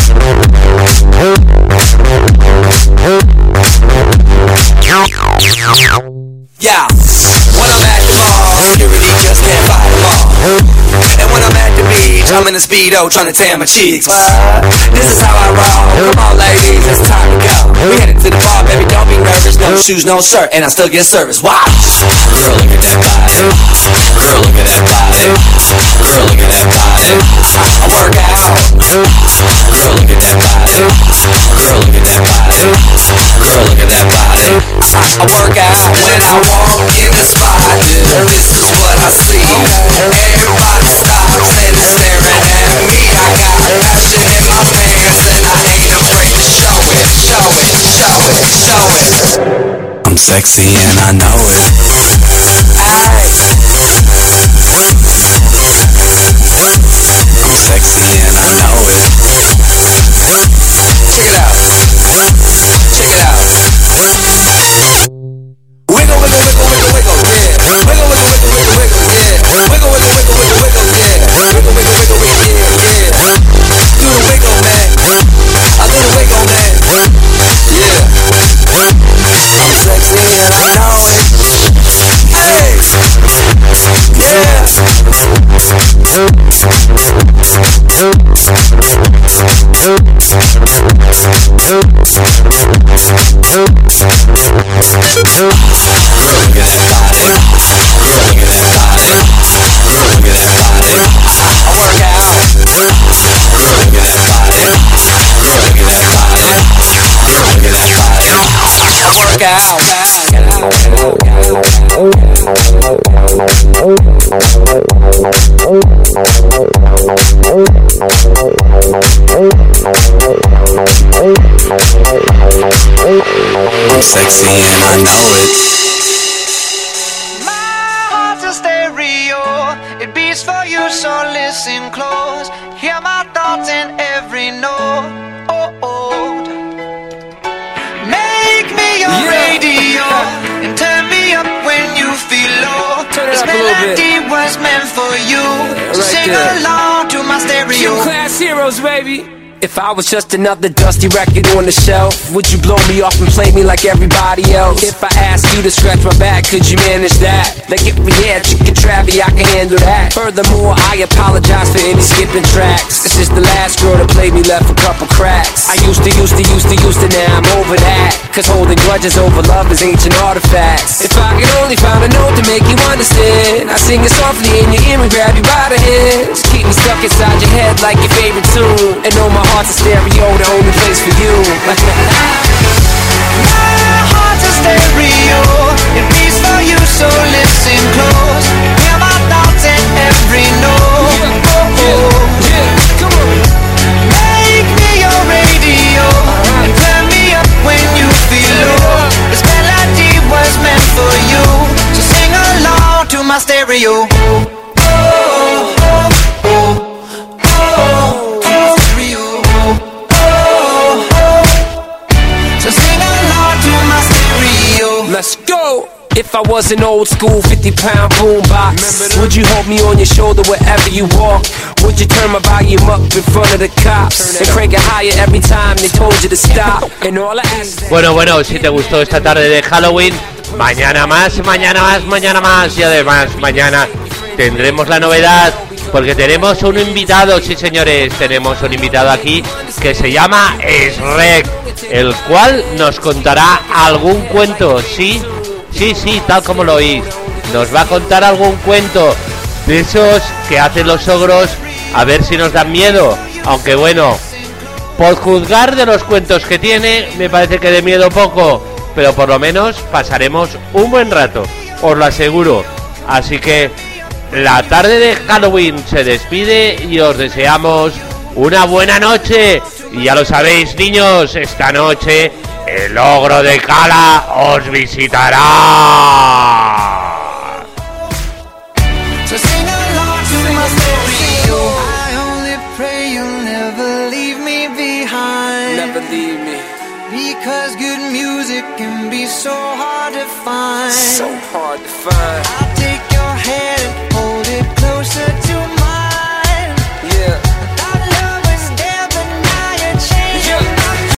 Yeah, when I'm at the mall, security just can't fight them all. And when I'm at the beach, I'm in a Speedo trying to tan my cheeks. This is how I roll. Come on, ladies, it's time to go. We headed to the bar, baby, don't be nervous. No shoes, no shirt, and I still get service. Wow. Girl, look at that body. Girl, look at that body. Girl, look at that body. I work out. Girl, look at that body. Girl, look at that body. Girl, look at that body. I work out when I walk in the spot. This is what I see. Everybody stops and is staring at me. I got passion in my pants and I ain't afraid to show it. Show it, show it, show it. I'm sexy and I know it. I'm sexy and I know it. Check it out. Check it out. Wiggle, wiggle, wiggle, wiggle, wiggle, yeah. Wiggle, wiggle, wiggle, wiggle, wiggle, yeah. Wiggle, wiggle, wiggle, wiggle, wiggle, yeah. Wiggle, wiggle, wiggle, wiggle, yeah, yeah. Do the wiggle, man. I do the wiggle, man. Yeah. I'm sexy and I know it. Hey. Yeah. I'm sexy and I know it. My heart's a stereo, it beats for you, so listen close. Hear my thoughts in every note. Oh, oh. Make me your radio and turn me up when you feel low. This melody was meant for you, so sing along to my stereo. Class heroes, baby. If I was just another dusty record on the shelf, would you blow me off and play me like everybody else? If I asked you to scratch my back, could you manage that? Like if we had chicken Travie, I can handle that. Furthermore, I apologize for any skipping tracks. This is the last girl that played me, left a couple cracks. I used to, now I'm over that. Cause holding grudges over love is ancient artifacts. If I could only find a note to make you understand, I sing it softly in your ear and grab you by the hands. Keep me stuck inside your head like your favorite tune, and know my heart's a stereo, the only place for you. My heart's a stereo, it beats for you, so listen close. Hear my thoughts in every note. Come on. Make me your radio and turn me up when you feel low. This melody was meant for you, so sing along to my stereo. Let's go! If I was an old school 50-pound boombox, would you hold me on your shoulder wherever you walk? Would you turn my volume up in front of the cops and crank it higher every time they told you to stop? And all I ask. Bueno, si te gustó esta tarde de Halloween, mañana más, y además mañana tendremos la novedad, porque tenemos un invitado, sí señores, tenemos un invitado aquí que se llama Shrek, el cual nos contará algún cuento, sí, tal como lo oís, nos va a contar algún cuento de esos que hacen los ogros a ver si nos dan miedo, aunque bueno, por juzgar de los cuentos que tiene, me parece que de miedo poco, pero por lo menos pasaremos un buen rato, os lo aseguro. Así que la tarde de Halloween se despide y os deseamos una buena noche. Y ya lo sabéis, niños, esta noche el ogro de Cala os visitará. So sing along to my story. I only pray you'll never leave me behind. Never leave me. Because good music can be so hard to find. So hard to find.